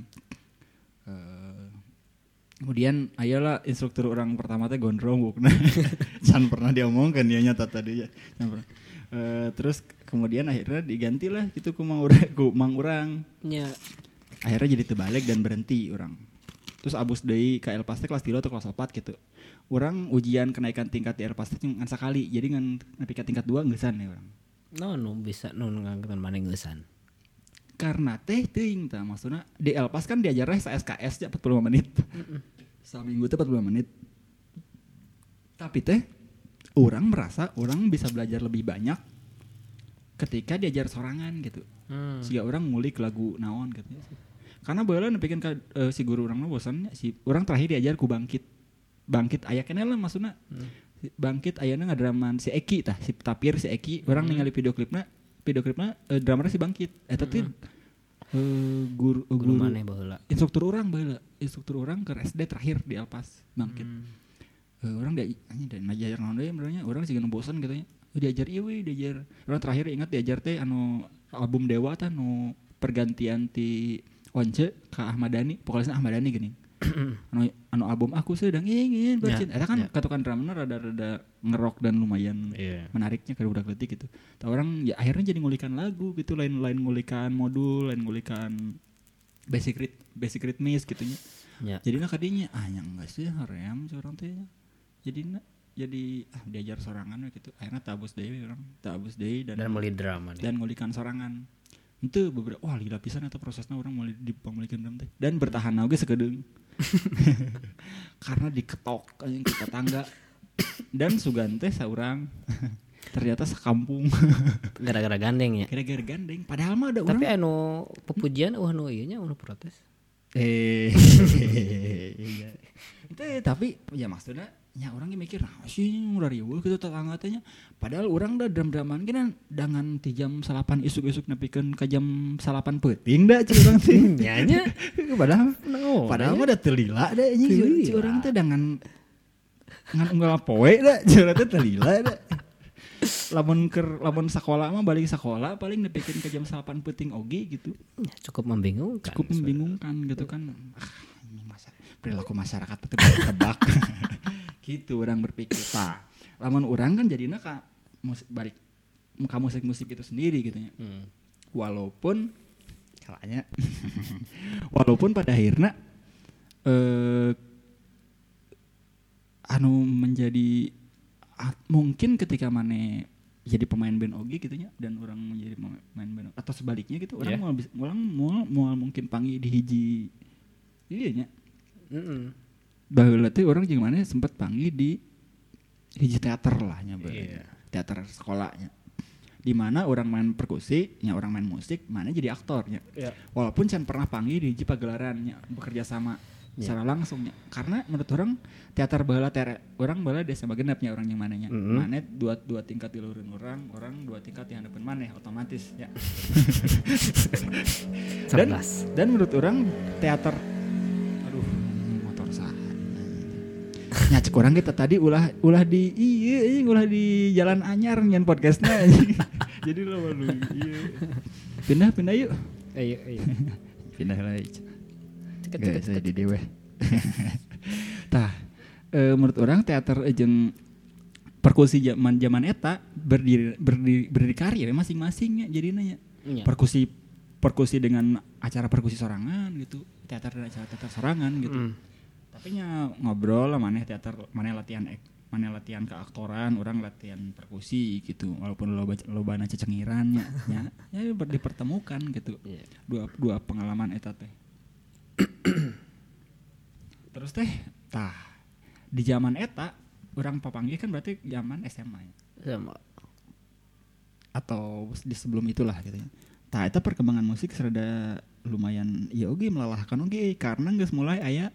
uh, kemudian ayolah instruktur orang pertama teh gondrong bukna can pernah diomongkeun dia nyata tadi ya Uh, terus kemudian akhirnya digantilah gitu ku mang urang ku mang urang nya akhirnya jadi terbalik dan berhenti orang terus abus deui ka Elpas teh kelas tilu atau kelas opat gitu orang ujian kenaikan tingkat di Elpas teh ngan sakali jadi ngan nepi ka tingkat dua geussan ya orang no no bisa no ngangkatan maneh geussan karena teh teuing tah maksudna di Elpas kan diajarnya sa S K S nya empat puluh lima menit saminggu teh empat puluh lima menit tapi teh orang merasa orang bisa belajar lebih banyak ketika diajar sorangan gitu. Hmm. Sehingga orang ngulik lagu naon gitu. Karena baheula nepikeun ka uh, si guru urangna bosannya si orang terakhir diajar ku Bangkit. Bangkit aya keneh lah maksudna. Hmm. Bangkit ayana ngadraman si Eki tah, si Tapir si Eki. Orang hmm. ningali video klipna, video klipna uh, drummerna si Bangkit. Eta teh hmm. uh, guru uh, guru, guru maneh baheula. Instruktur urang baheula. Instruktur urang ke S D terakhir di Elpas Bangkit. Hmm. Uh, orang dia anjing dan ngajar naon deui benernya orang sih geuning bosan katanya. Oh, diajar ieu we diajar. Orang terakhir ingat diajar teh anu album Dewa teh anu pergantian ti Once ka Ahmad Dhani, vokalisna Ahmad Dhani geuning. anu anu album Aku Sedang Ingin Bercinta. Eta kan yeah. Katukan drumna rada-rada ngerok dan lumayan yeah. menariknya ke budak leutik gitu. Tah orang ya akhirnya jadi ngulikan lagu gitu lain-lain ngulikan modul, lain ngulikan basic rit basic rhythmis gitu nya. Yeah. Jadinya kadinya ah nya enggak sih haream orang teh. Jadi jadi ah diajar sorangan gitu akhirnya tabus deui orang tabus deui dan dan meuli drama dan ngulikan sorangan itu beberapa wah lila pisan eta prosesna orang meuli di pamulikeun drum teh dan bertahan oge sakedeung karena diketok anjing ke tetangga dan sugan teh saurang ternyata sakampung gara-gara gandeng ya gara-gara gandeng padahal mah ada tapi orang tapi anu pepujian uh anu ieu nya anu protes eh iya itu tapi ya maksudnya nya orang ge mikir nah sih urang riweuh kitu tetangga teh nya padahal urang da dram-draman gina dangan ti jam salapan isuk-isuk nepikeun ka jam salapan peuting da cik urang teh nya nya padahal no, padahal mah da teu lila da anjing cik urang teh dangan ngan unggal poe da cik urang teh teu lila da lamun ker lamun sekolah mah balik sekolah paling nepikeun ke jam salapan peuting oge gitu. Ya, cukup membingungkan. Cukup membingungkan gitu kan. Ah, ini masa perilaku masyarakat teh tebak. Gitu orang berpikir. Tah, lamun orang kan jadinya ka musik balik ka musik-musik itu sendiri gitu ya. Hmm. Walaupun kalanya walaupun pada akhirnya eh, anu menjadi ah, mungkin ketika mana jadi pemain band oge gitu nya dan orang menjadi pemain band atau sebaliknya gitu orang yeah. mau orang mau mau mungkin panggil di hiji iya nya heeh baheula teh orang jeung mana sempat panggil di hiji teater lah nya yeah. teater sekolahnya di mana orang main perkusi nya orang main musik mana jadi aktornya yeah. walaupun can pernah panggil di hiji pagelarannya bekerja sama yeah. secara langsungnya karena menurut orang teater baheula tere orang baheula desa bagenepnya orang yang mananya mm-hmm. mana dua dua tingkat di luhureun orang orang dua tingkat di handeupeun maneh otomatis ya dan dan menurut orang teater aduh motor sah nya cek urang kita tadi ulah ulah di ieu ulah di Jalan Anyar nyen podcastna jadi lo baru ieu pindah pindah yuk ayo ayo pindah lah Gak saya di dewe. Tah, e, menurut orang teater jeung perkusi zaman zaman eta berdiri berdiri berdikari masing-masingnya jadinya nya. Ya. Perkusi perkusi dengan acara perkusi sorangan gitu, teater dan acara teater sorangan gitu. Mm. Tapi nya ngobrol lah maneh teater, maneh latihan ek, maneh latihan keaktoran, orang latihan perkusi gitu. Walaupun lo lobana cecengiran nya, nya ya dipertemukan gitu. Yeah. Dua dua pengalaman eta teh. Terus teh tah di zaman eta orang papanggih kan berarti zaman S M A ya. S M A atau di sebelum itulah gitu ya. Tah eta perkembangan musik serada lumayan ya oge melalahkan oge karena geus mulai aya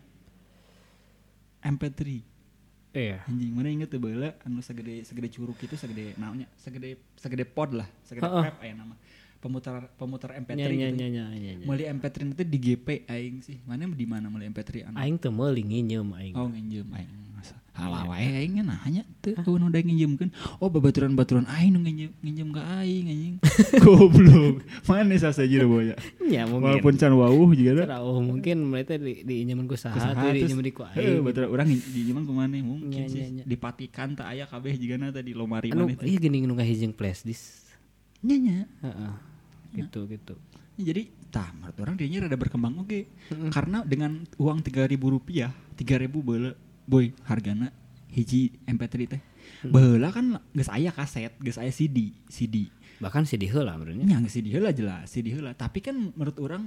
M P tiga. Iya. Anjing mana inget tuh baheula anu segede segede curug itu segede naonnya segede segede pod lah segede pep aya nama. pemutar pemutar M P tiga nya, gitu. Nya, nya, nya, nya. Meuli M P tiga itu di G P aing sih. Mana di mana meuli M P tiga anu? Aing teu meuli nginjem aing. Oh, nginjem aing. Halah wae aing nanya teu kudu udah nginjemkeun. Oh, babaturan-baturan aing nu nginjem nginjem ka aing anjing. Goblok. Mana sasajeuna boya. Ya mungkin. Walaupun can wawuh juga da. Oh, mungkin mereka di diinjemen ku saha teh diinjemen ku aing. Heuh, baturan urang diinjemen ku maneh mungkin sih. Dipatikan teh aya kabeh jigana tadi lomari maneh. Anu ieu geuning nu ngahijing flash disk. Nya nya. Heeh. Gitu gitu. Jadi, tah menurut orang dianya rada berkembang oke. Okay. Mm-hmm. Karena dengan uang tiga ribu rupiah, tiga ribu baheula boy hargana hiji M P tiga teh. Mm-hmm. Baheula kan geus aya kaset, geus aya C D, C D. Bahkan C D heula menurutnya. Nya C D heula jelas, C D heula. Tapi kan menurut orang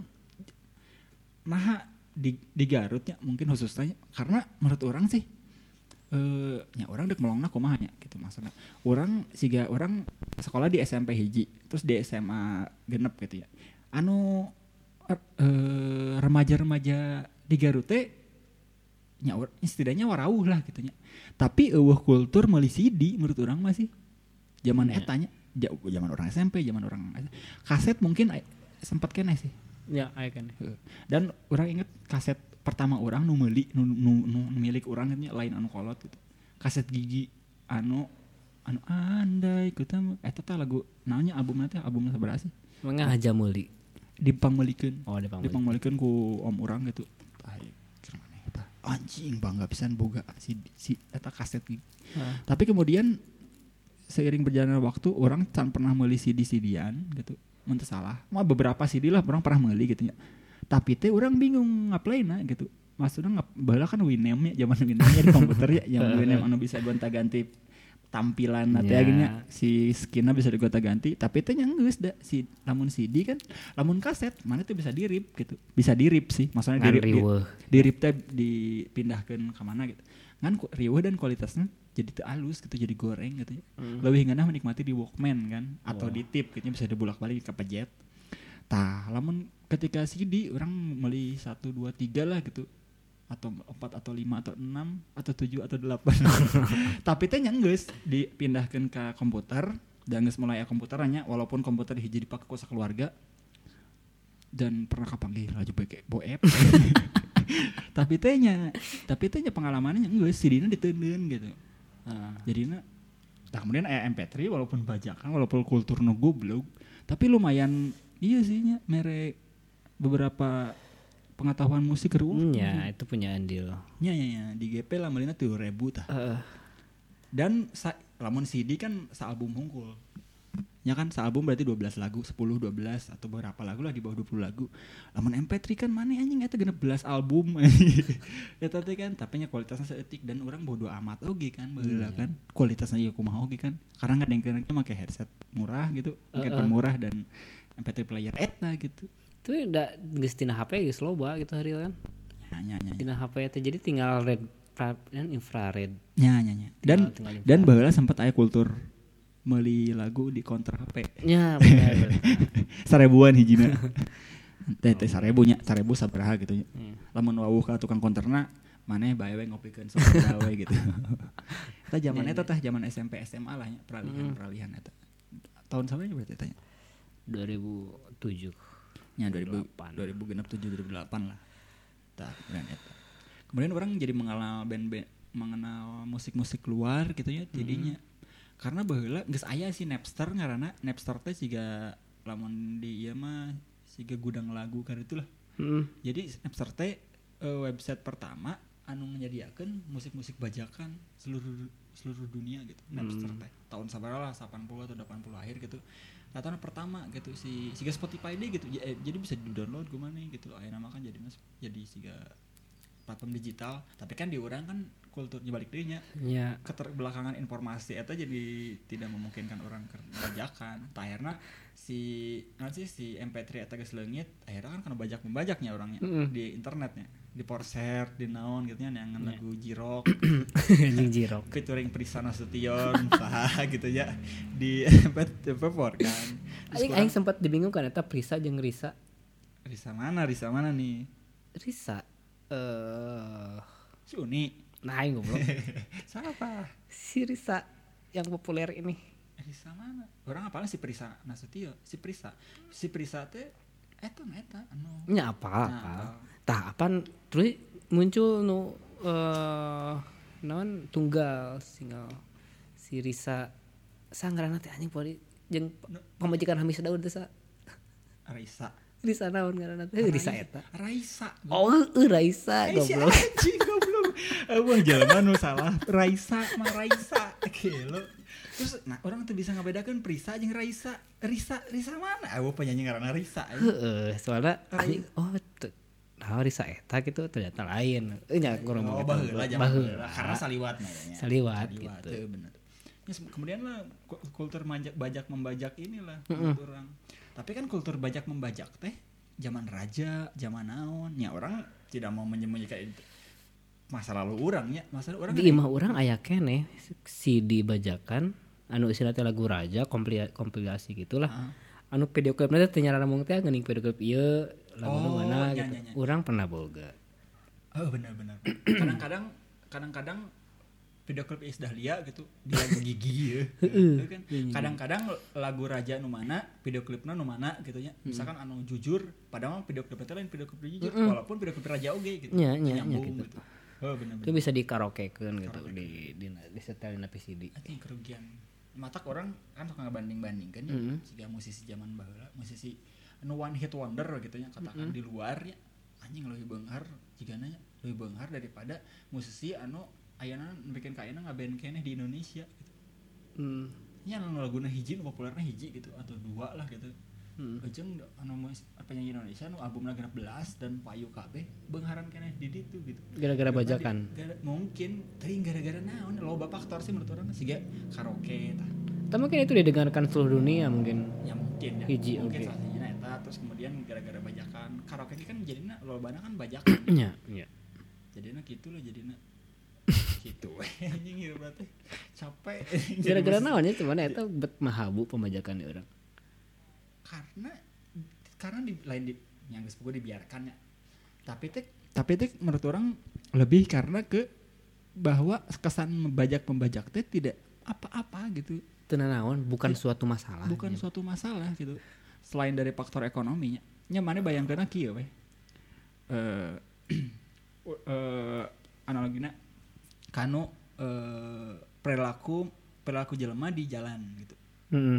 nah di di Garut nya mungkin khususnya karena menurut orang sih eh nya orang dek melongna kumaha nya gitu maksudnya. Orang siga orang sekolah di S M P hiji, terus di S M A genep gitu ya. Anu er, eh, remaja-remaja di Garut teh nya setidaknya warauh lah gitu nya. Tapi eueuh kultur meuli C D menurut orang masih zaman yeah. Eta nya zaman orang S M P, zaman orang kaset mungkin sempat kene sih. Ya, aya kene. Dan orang inget kaset pertama orang nu meuli nu, nu, nu, nu milik orang nya lain anu kolot gitu. Kaset Gigi anu anu andai kita eta teh lagu naonnya albumna teh albumna sabaraha sih? Mangga Haja Meuli. Dipangmeulikeun. Oh, dipangmeulikeun. Dipangmeulikeun ku om urang gitu. Tah kira maneh eta. Anjing bangga pisan boga si si eta kaset Gigi. Uh. Tapi kemudian seiring berjalannya waktu orang can pernah meuli C D-C D-an gitu. Mun teu salah. Mah beberapa C D lah orang pernah meuli gitu nya. Tapi teh orang bingung ngaplaina gitu. Maksudnya ngap baheula kan Winamp ya zaman Winamp di komputer ya yang Winamp anu bisa gonta-ganti tampilan yeah. Teh gini si skinnya bisa digonta-ganti tapi teh nya geus da si lamun C D kan lamun kaset mana tuh bisa di-rip gitu. Bisa di-rip sih. Maksudnya di-rip di, di-rip teh dipindahkeun ka mana gitu. Ngan riweuh dan kualitasnya jadi teu alus gitu jadi goreng gitu ya. Mm. Leuwih ngeunah menikmati di Walkman kan atau wow. Di tip gitu bisa dibulak-balik ke pejet. Tah, lamun ketika C D orang meuli satu dua tiga lah gitu. Atau empat atau lima atau enam atau tujuh atau delapan. Tapi teh nya geus dipindahkeun ke komputer dan geus mulai komputerannya walaupun komputer hiji dipakai ku sakeluarga dan pernah kapanggih laju beke boep. Tapi teh nya tapi teh nya pengalamannya geus C D-na diteundeun gitu. Nah, jadinya Nah kemudian aya M P tiga walaupun bajakan walaupun kultur nu goblok tapi lumayan iya sih nya mere beberapa pengetahuan musik keur hmm, ya itu punya andil nya nya nya di G P lah melina tujuh ribu tah uh. Dan sa, lamun C D kan sa-album hungkul nya kan sa-album berarti dua belas lagu sepuluh dua belas atau beberapa lagu lah di bawah dua puluh lagu lamun M P tiga kan maneh anjing eta genep belas album eta teh kan tapi nya kualitasna saeutik dan urang bodo amat oge kan baheula hmm, kan kualitasna ieu kumaha oge kan karena ngadengkeun teh make headset murah gitu make uh, uh. murah dan M P tiga player eta gitu itu udah geus tina H P geus loba gitu hari kan nya nya tina H P teh jadi tinggal red dan infrared nya nya nya dan tinggal, tinggal dan baheula sempat aya kultur meuli lagu di counter H P. Ya benar. Sarebuan hijina. Teh teh sarebu nya, sarebu sabaraha gitu nya. Hmm. Lamun wawuh ka tukang counterna maneh bae we ngopikeun sok gawe gitu. Eta zaman eta teh zaman S M P S M A lah nya peralihan-peralihan eta. Tahun sabaraha berarti eta nya? dua ribu tujuh. Nya dua ribu delapan. dua ribu genep tujuh dua ribu delapan lah. Tah kemudian eta. Kemudian orang jadi mengenal band-band mengenal musik-musik luar gitu ya jadinya. Hmm. Karena baheula geus aya si Napster ngaranna Napster teh siga lamun di ieu mah siga gudang lagu kan itulah. Heeh. Hmm. Jadi Napster teh uh, website pertama anu nyadiakeun musik-musik bajakan seluruh seluruh dunia gitu. Hmm. Napster teh tahun sabaraha lah delapan puluh atau delapan puluh akhir gitu. Tahun pertama gitu si siga Spotify deh gitu. Jadi bisa di-download gimana gitu. Aya nama kan jadi jadi siga platform digital, tapi kan di urang kan kulturnya balik deui nya. Ya. Keterbelakangan informasi eta jadi tidak memungkinkan orang keur bajakan. Tah akhirna si naon sih si M P tiga eta geus leungit, akhirnya kan kana bajak-membajaknya orangnya mm-hmm. di internetnya, di Porser, di naon gitu nya neangan yeah. lagu Jirok. Anjing Jirok. Featuring Prisa Nasution, saha gitu ya di M P tiga kan. Aing aing sempat dibingungkan eta Prisa jeung Risa. Risa mana? Risa mana nih? Risa eh uh, si Uni. Nah, aing goblok. Siapa? Si Risa yang populer ini. Risa mana? Orang apalnya si Prisa Nasution, si Prisa. Si Prisa teh eta eta anu. Nya apa apa. Tah apa terus muncul nu eh uh, naon tunggal single si Risa sanggarana teh anjing poli jeung pamajikan Hamis Daud teh sa. Risa. Risa naon ngaranna teh Risa eta. Raisa. Oh, uh, Raisa goblok. Anjing goblok. Wah, jelema nu salah. Raisa mah Raisa. Gelo. Terus nah orang tuh bisa ngabedakeun Prisa jeung Raisa. Risa, Risa mana? Ah, penyanyi ngaranna Risa. Heeh, soalna anjing oh nah Risa eta gitu ternyata lain. Eh nya kurang oh, baheula baheula karena saliwat namanya. Saliwat, saliwat gitu. Teu bener. Ya, kemudian lah kultur bajak bajak membajak inilah mm-hmm. orang. Tapi kan kultur bajak membajak teh zaman raja, zaman naon, nya orang tidak mau menyembunyikan itu. Masa lalu urangnya, masa lalu urang di imah urang aya keneh C D bajakan anu isina teh lagu raja kompil- kompilasi gitulah. Uh-huh. Anu video klipna teh nyarana mung teh geuning video klip ieu lagu oh, mana gitu. Ny- ny- ny- urang pernah boga. Oh benar-benar. kadang-kadang kadang-kadang video klip Iis Dahlia gitu di lagu Gigi ya. Kan kadang-kadang lagu raja nu mana, video klipna nu mana gitu nya. Misalkan anu jujur, padahal video klipna teh lain video klip jujur mm-hmm. walaupun video klip raja oge gitu. Nya nya gitu. gitu. Oh benar-benar. Itu bisa di karaokekeun gitu di di di setelin P C D. Anjing kerugian. Matak orang kan suka ngebanding-bandingkan ya. Mm-hmm. Siga musisi zaman baheula, musisi anu one hit wonder gitu nya katakan mm-hmm. di luar ya. Anjing leuwih beunghar jigana leuwih beunghar daripada musisi anu ayana bikin kayana ngeband keneh di Indonesia gitu. Hmm. Nya anu laguna hiji nu populerna hiji gitu atau dua lah gitu. Heeh. Hmm. Jeung anu penyanyi Indonesia nu albumna genep belas dan payu kabeh beungharan keneh di ditu gitu. Gara-gara bajakan. Di, gara, mungkin teuing gara-gara naon loba faktor sih menurut urang siga karaoke tah. Tapi mungkin itu didengarkan seluruh dunia mungkin. Ya mungkin ya. Hiji mungkin okay. salah satunya eta terus kemudian gara-gara bajakan. Karaoke kan jadina lobana kan bajakan. Iya, iya. Jadina kitu lah jadina. Gitu anjing hirup teh capek gara-gara naon nya cuman eta bet mahabu pemajakan di urang karena karena di lain di yang geus pokok dibiarkan ya tapi teh tapi teh menurut orang lebih karena ke bahwa kesan membajak-membajak teh tidak apa-apa gitu teu naon bukan ya, suatu masalah bukan ya. suatu masalah gitu selain dari faktor ekonominya nya mane bayangkeun kieu we eh uh, uh, analogina kanu uh, perilaku perilaku jelema di jalan gitu. Mm-hmm.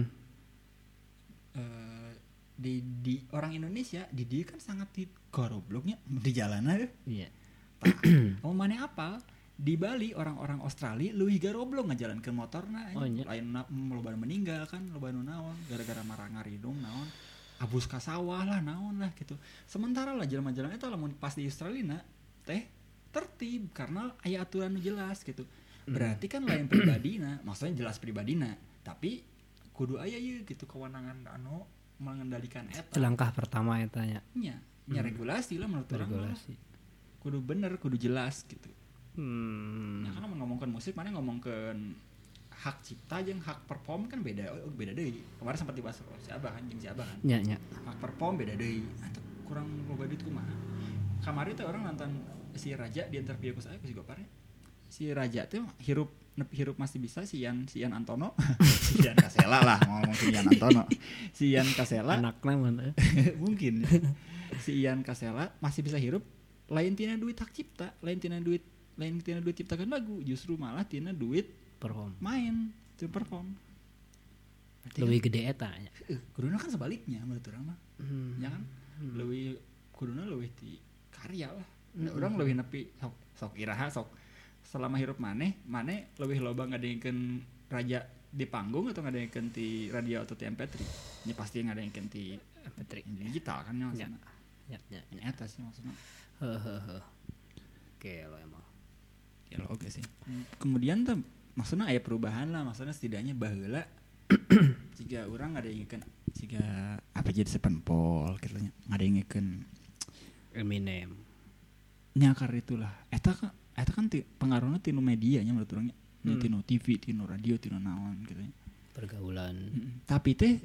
Uh, di di orang Indonesia di dia kan sangat di gobloknya di jalanan. Iya. Kamu mana apa? Di Bali orang-orang Australia leuwih garoblok ngajalankeun motorna oh, lain na, loba meninggal kan loba nu naon gara-gara marah ngaridung naon abus ka sawah lah naon lah gitu. Sementara lah jelema-jelema eta lamun pas di Australia teh tertib karena aya aturan nu jelas gitu. Berarti kan lain pribadina, maksudnya jelas pribadina, tapi kudu aya ieu gitu kewenangan anu mengendalikan eta. Langkah pertama eta nya. Nya, nya regulasi lah menurut urang. Regulasi. Kudu bener, kudu jelas gitu. Hmm. Nah, karena ngomongkan musik, mana ngomongkan hak cipta jeung hak perform kan beda, oh, beda deui. Kemarin sempat dibahas oh, si Abah kan jeung si Abah kan. Nya, nya. Hak perform beda deui. Atuh kurang loba duit kumaha. Kamari teh orang nonton si Raja di interview ku saya ku si Gopar. Si Raja tuh hirup hirup masih bisa si Ian si Ian Antono. Si Ian Kasela lah ngomong si Ian Antono. Si Ian Kasela anakna mana? Mungkin. Si Ian Kasela masih bisa hirup lain tina duit hak cipta, lain tina duit lain tina duit ciptakan lagu, justru malah tina duit perform main itu perform lebih kan, gede eta nya uh, kuduna kan sebaliknya menurut orang mah hmm. ya kan hmm. lebih kuduna lebih di karya lah hmm. orang lebih nepi sok sok iraha sok selama hirup maneh maneh lebih loba ngadengkeun Raja di panggung atau ngadengkeun ti radio atau ti M P tiga nya pasti ngadengkeun ti M P tiga digital kan nya maksudna nya nya nya eta sih maksudna heuh oke lo emang ya lo oke sih. Kemudian tuh maksudnya aya perubahan lah, maksudnya setidaknya baheula jika orang ngadengkeun jika apa jadi Sevenfold gitu nya ngadengkeun Eminem. Nya karena itulah eta kan eta kan ti, pengaruhna tinu media nya menurut urang nya. Hmm. Tinu T V, tinu radio, tinu naon gitu nya. Pergaulan. Hmm. Tapi teh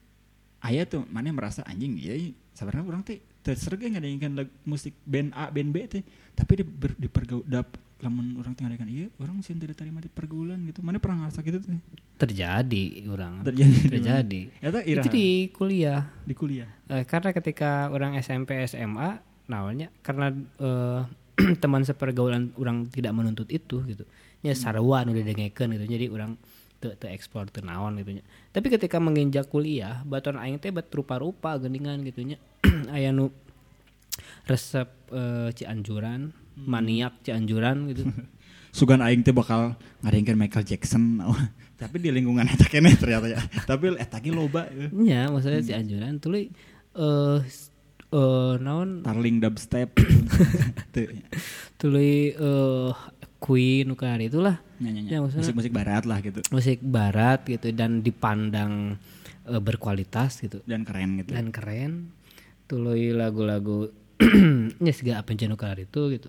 aya tuh mana merasa anjing ieu sabarna urang teh terserge ngadengkeun musik band A, band B teh, tapi di, ber, di pergaul dap lamun orang tinggal dengan iya orang sih tidak terima di pergaulan gitu. Mana pernah ngerasa gitu tuh? Terjadi orang. Terjadi. Terjadi. Eta itu di kuliah. Di kuliah. Eh, karena ketika orang S M P S M A namanya karena eh, teman sepergaulan orang tidak menuntut itu gitu. Nya sarua nu didengekeun gitu. Jadi orang teu teu explore teu naon gitu nya. Tapi ketika menginjak kuliah, baturan aing teh bet rupa-rupa geuningan gitu nya. Aya nu resep uh, Cianjuran, hmm. maniak Cianjuran gitu. Sugan aing teh bakal ngadengkeun Michael Jackson. Tapi di lingkungan eta keneh ternyata ya. Tapi eta ge loba. Nya, maksudnya hmm. Cianjuran tuluy eh uh, uh, naon Tarling dubstep. Tuluy uh, Queen nukan itulah. Ya, ya, ya. Musik-musik barat lah gitu. Musik barat gitu dan dipandang uh, berkualitas gitu. Dan keren gitu. Dan keren. Tuluy lagu-lagu nya siga apa jenuh kalar itu gitu.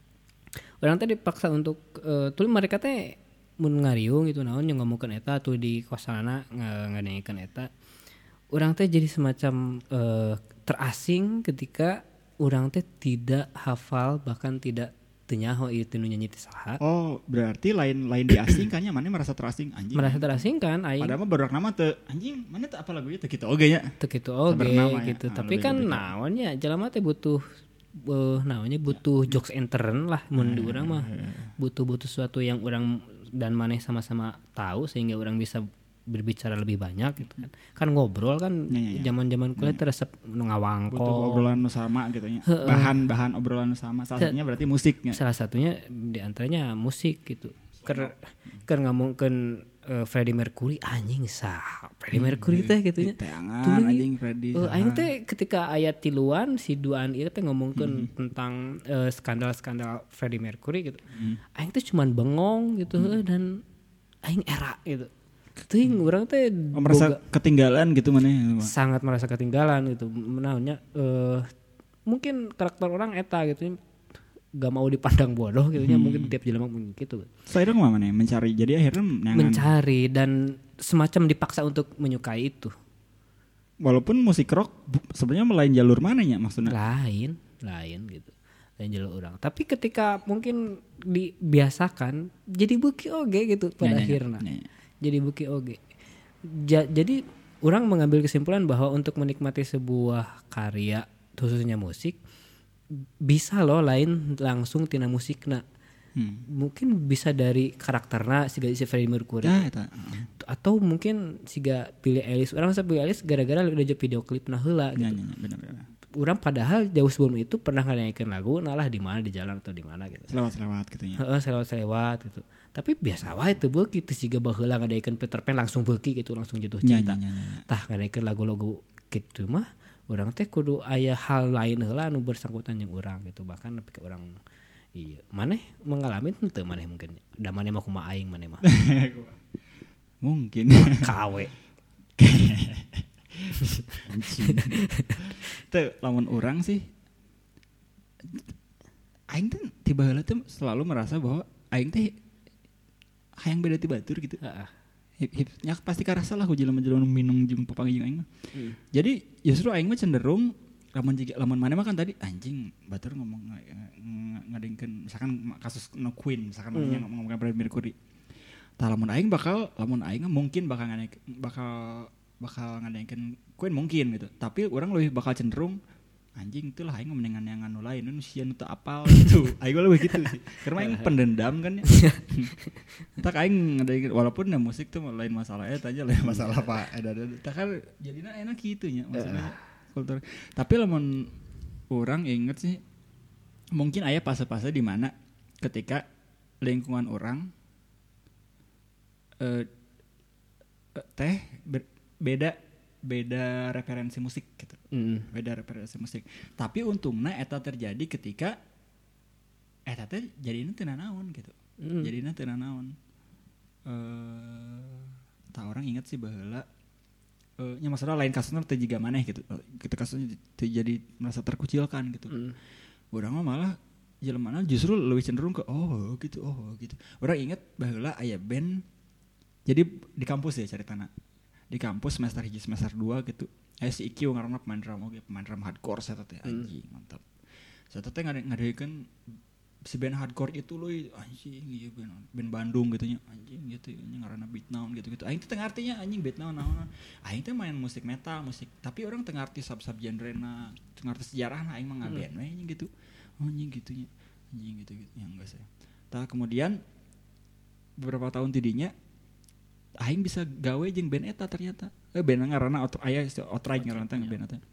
Orang teh dipaksa untuk uh, tuluy mereka teh mun ngariung gitu naon yang ngomongkeun eta tuh di kosanana ngadengkeun eta. Orang teh jadi semacam uh, terasing ketika orang teh tidak hafal bahkan tidak tenyaho ieu teh nu nyanyi teh saha. Oh, berarti lain lain diasingkannya mana merasa terasing anjing. Merasa terasing kan aing. Padahal mah barudak nama teh anjing, mana teh apa lagunya teh kitu oge nya. Teh kitu oge gitu. Ya. Tapi kan naon nya jelema teh butuh uh, naonnya butuh jokes intern lah mun di urang mah. Butuh-butuh sesuatu yang urang dan maneh sama-sama tahu sehingga orang bisa berbicara lebih banyak gitu kan. Kan ngobrol kan zaman-zaman kuliah teh resep ngawangko. Butuh obrolan nu sama gitu nya. Bahan-bahan obrolan nu sama. Salah satunya berarti musiknya. Salah satunya di antaranya musik gitu. Ker ker ngomongkeun uh, Freddie Mercury anjing sah. Freddie Mercury teh gitu nya. Teangan anjing Freddie. Uh, aing teh ketika ayat tiluan si duaan ieu teh ngomongkeun hmm. tentang uh, skandal-skandal Freddie Mercury gitu. Hmm. Aing teh cuman bengong gitu hmm. dan aing era gitu. Ting orang teh oh, merasa boga, ketinggalan gitu mana sangat merasa ketinggalan gitu naonnya uh, mungkin karakter orang eta gitu gak mau dipandang bodoh gitu nya hmm. mungkin tiap jelema mungkin gitu. Saya dong mana mencari jadi akhirnya nyangan. Mencari dan semacam dipaksa untuk menyukai itu. Walaupun musik rock sebenarnya melain jalur mananya maksudnya? Lain, lain gitu. Lain jalur orang. Tapi ketika mungkin dibiasakan jadi buki oge gitu pada ya, akhirnya. Ya, ya. Jadi buki oge. Ja, jadi orang mengambil kesimpulan bahwa untuk menikmati sebuah karya khususnya musik bisa loh lain langsung tina musikna. Hmm. Mungkin bisa dari karakterna siga si Freddie Mercury. Ya, eta. Atau mungkin siga Billie Eilish. Urang masa Billie Eilish gara-gara udah jadi video klip nah heula gitu. Ya, ya, benar-benar. Urang padahal jauh sebelum itu pernah nyanyikan lagu nalah di mana di jalan atau di mana gitu. Selewat-selewat gitu nya. Heeh, selewat-selewat gitu. Tapi biasa wae teu beuki teu siga baheula ngadaikeun Peter Pan langsung beuki gitu langsung jatuh cinta. Ya, ya, ya, ya. Tah ngadaikeun lagu-lagu kitu mah urang teh kudu aya hal lain heula anu bersangkutan jeung urang gitu. Bahkan nepi ka urang iya, maneh mengalami teu maneh mungkin. Da maneh mah kumaha aing maneh mah. Mungkin kawe. Teu lamun urang sih aing teh tiba heula teh selalu merasa bahwa aing teh hayang beda ti batur gitu. Heeh. Hip-hipnya pasti karasa lah ku jelema-jelema minum jeung papanggih jeung aing mah. Hmm. Jadi justru aing mah cenderung lamun jiga lamun maneh mah kan tadi anjing batur ngomong ngadengkeun misalkan kasus no Queen misalkan hmm. manehnya ngomongkeun Freddie Mercury. Tah lamun aing bakal lamun aing mungkin bakal ngadengkeun bakal bakal ngadengkeun Queen mungkin gitu. Tapi urang lebih bakal cenderung anjing teh lah aing mendingan yang anu lain nu sieun teu apal gitu. Aing lebih gitu sih. Karena aing pendendam kan ya. Tak aing ngadengkeun walaupun ya musik tuh lain masalah eta aja lain masalah Pak. Eta tah kan jadina enak kitu nya maksudnya. Kultur. Tapi lamun orang inget sih mungkin aya fase-fase di mana ketika lingkungan orang eh, teh ber, beda beda referensi musik gitu. Mm. Beda referensi musik. Tapi untungna eta terjadi ketika eta teh jadina teu nanaon gitu. Mm. Jadina teu nanaon. Eh tak orang inget sih baheula Uh, nya masalah lain kasusnya teu jiga maneh gitu. Kita kasusnya jadi merasa terkucilkan gitu. Mm. Urang mah malah jelemana justru lebih cenderung ke oh gitu, oh gitu. Urang inget baheula aya band jadi di kampus ya caritana. Di kampus semester satu semester dua gitu. Aya si Ikiu ngaranna pemain drum oge, pemain drum hardcore saya teh anjing mm. mantap. Saya teh ngadaikeun si band hardcore itu loh anjing ieu band, band Bandung gitu nya anjing gitu nya ngaranna Beatdown gitu-gitu. Aing teh teu ngartinya anjing Beatdown naon. Aing teh main musik metal, musik tapi orang teu ngarti sub-sub genrena, teu ngarti sejarahna aing mah ngaband we anjing gitu. Anjing gitu nya. Anjing gitu-gitu yang enggak saya. Tah kemudian beberapa tahun tidinya aing bisa gawe jeung band eta ternyata. Eh band ngaranna aya Outright ngaranna teh band eta.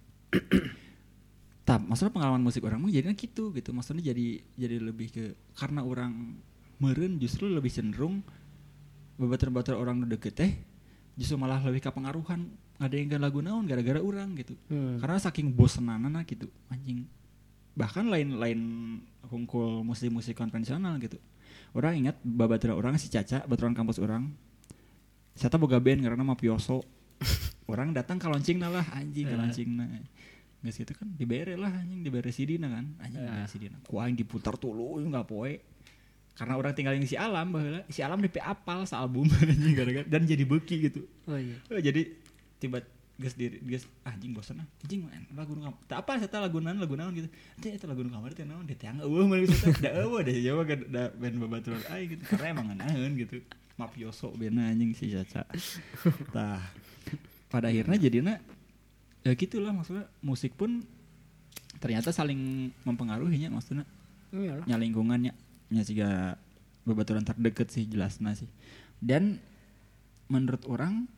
Tap, maksudnya pengalaman musik orang mah jadinya gitu gitu. Maksudnya jadi jadi lebih ke karena orang meureun justru lebih cenderung babatur-batur orang nu deukeut teh justru malah lebih ka pengaruhan ngadengkeun lagu naon gara-gara urang gitu. Hmm. Karena saking bosenanana gitu anjing. Bahkan lain-lain hungkul musik-musik konvensional gitu. Orang ingat babatur orang si Caca, baturan kampus orang. Saya boga band karena mafioso. Orang datang ka launchingna lah anjing ka launchingna. Geus gitu kan dibere lah anjing dibere C D-na kan anjing dibere C D-na ku aing diputar tuluy enggak poe karena orang tinggal di si Alam baheula si Alam D P apal sa-album anjing gara-gara dan jadi beuki gitu. Oh iya. Jadi tiba geus di geus anjing bosan ah anjing lagu nu kamar teu apa eta lagu naon lagu naon gitu teh eta lagu nu kamar teh naon teh tang eueuh mah gitu da eueuh da jawa da band babaturan aing gitu karena emang nganaeun gitu mafioso beuna anjing si Caca. Tah pada akhirnya jadinya ya gitulah maksudnya musik pun ternyata saling mempengaruhinya maksudnya. Iyalah. Nya lingkungannya nya siga babaturan terdekat sih jelasna sih. Dan menurut orang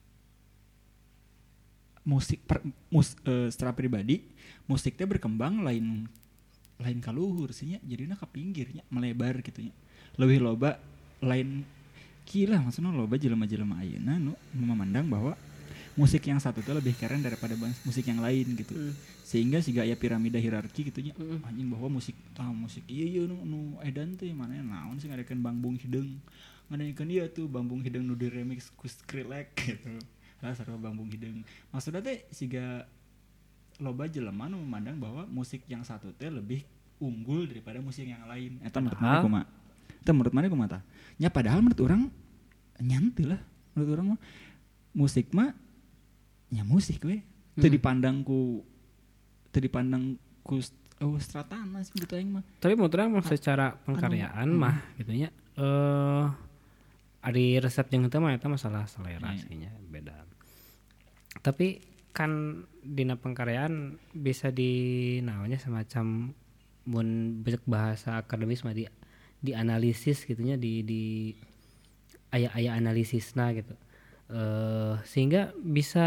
musik per, mus, uh, secara pribadi musiknya berkembang lain lain kaluhur sih nya jadinya ka pinggirnya melebar gitu nya. Lebih loba lain gila maksudnya loba jelema-jelema ayeuna nu memandang bahwa musik yang satu itu lebih keren daripada musik yang lain gitu. Mm. Sehingga siga aya piramida hierarki gitu nya. Mm. Anjing bahwa musik tah musik ieu ieu nu nu edan teh mana naon sih ngadekeun Bangbung Hideung. Ngadekeun ieu tuh Bangbung Hideung nu di remix ku Skrillex gitu. Lah sarua Bangbung Hideung. Maksudna teh siga loba jelema nu memandang bahwa musik yang satu teh lebih unggul daripada musik yang lain. Eta menurut mana kumaha? Eta menurut mana kumaha tah? Nya padahal menurut urang nyanteu lah. Menurut urang mah musik mah ya musik we hmm. teu dipandang ku teu dipandang ku oh, stratana sih menurut aing mah. Tapi menurut urang secara pengkaryaan anu, mah hmm. gitu nya eh ari resep jeung teh mah eta masalah selera yeah. sih nya beda. Tapi kan dina pengkaryaan bisa di naonnya semacam mun beuk bahasa akademis mah di dianalisis gitunya di di aya-aya analisisna gitu. Uh, sehingga bisa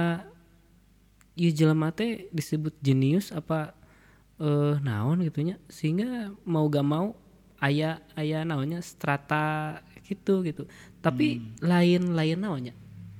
ieu jelema teh disebut jenius apa uh, naon gitunya, sehingga mau gak mau aya aya naonnya strata gitu gitu. Tapi hmm. lain lain naonnya.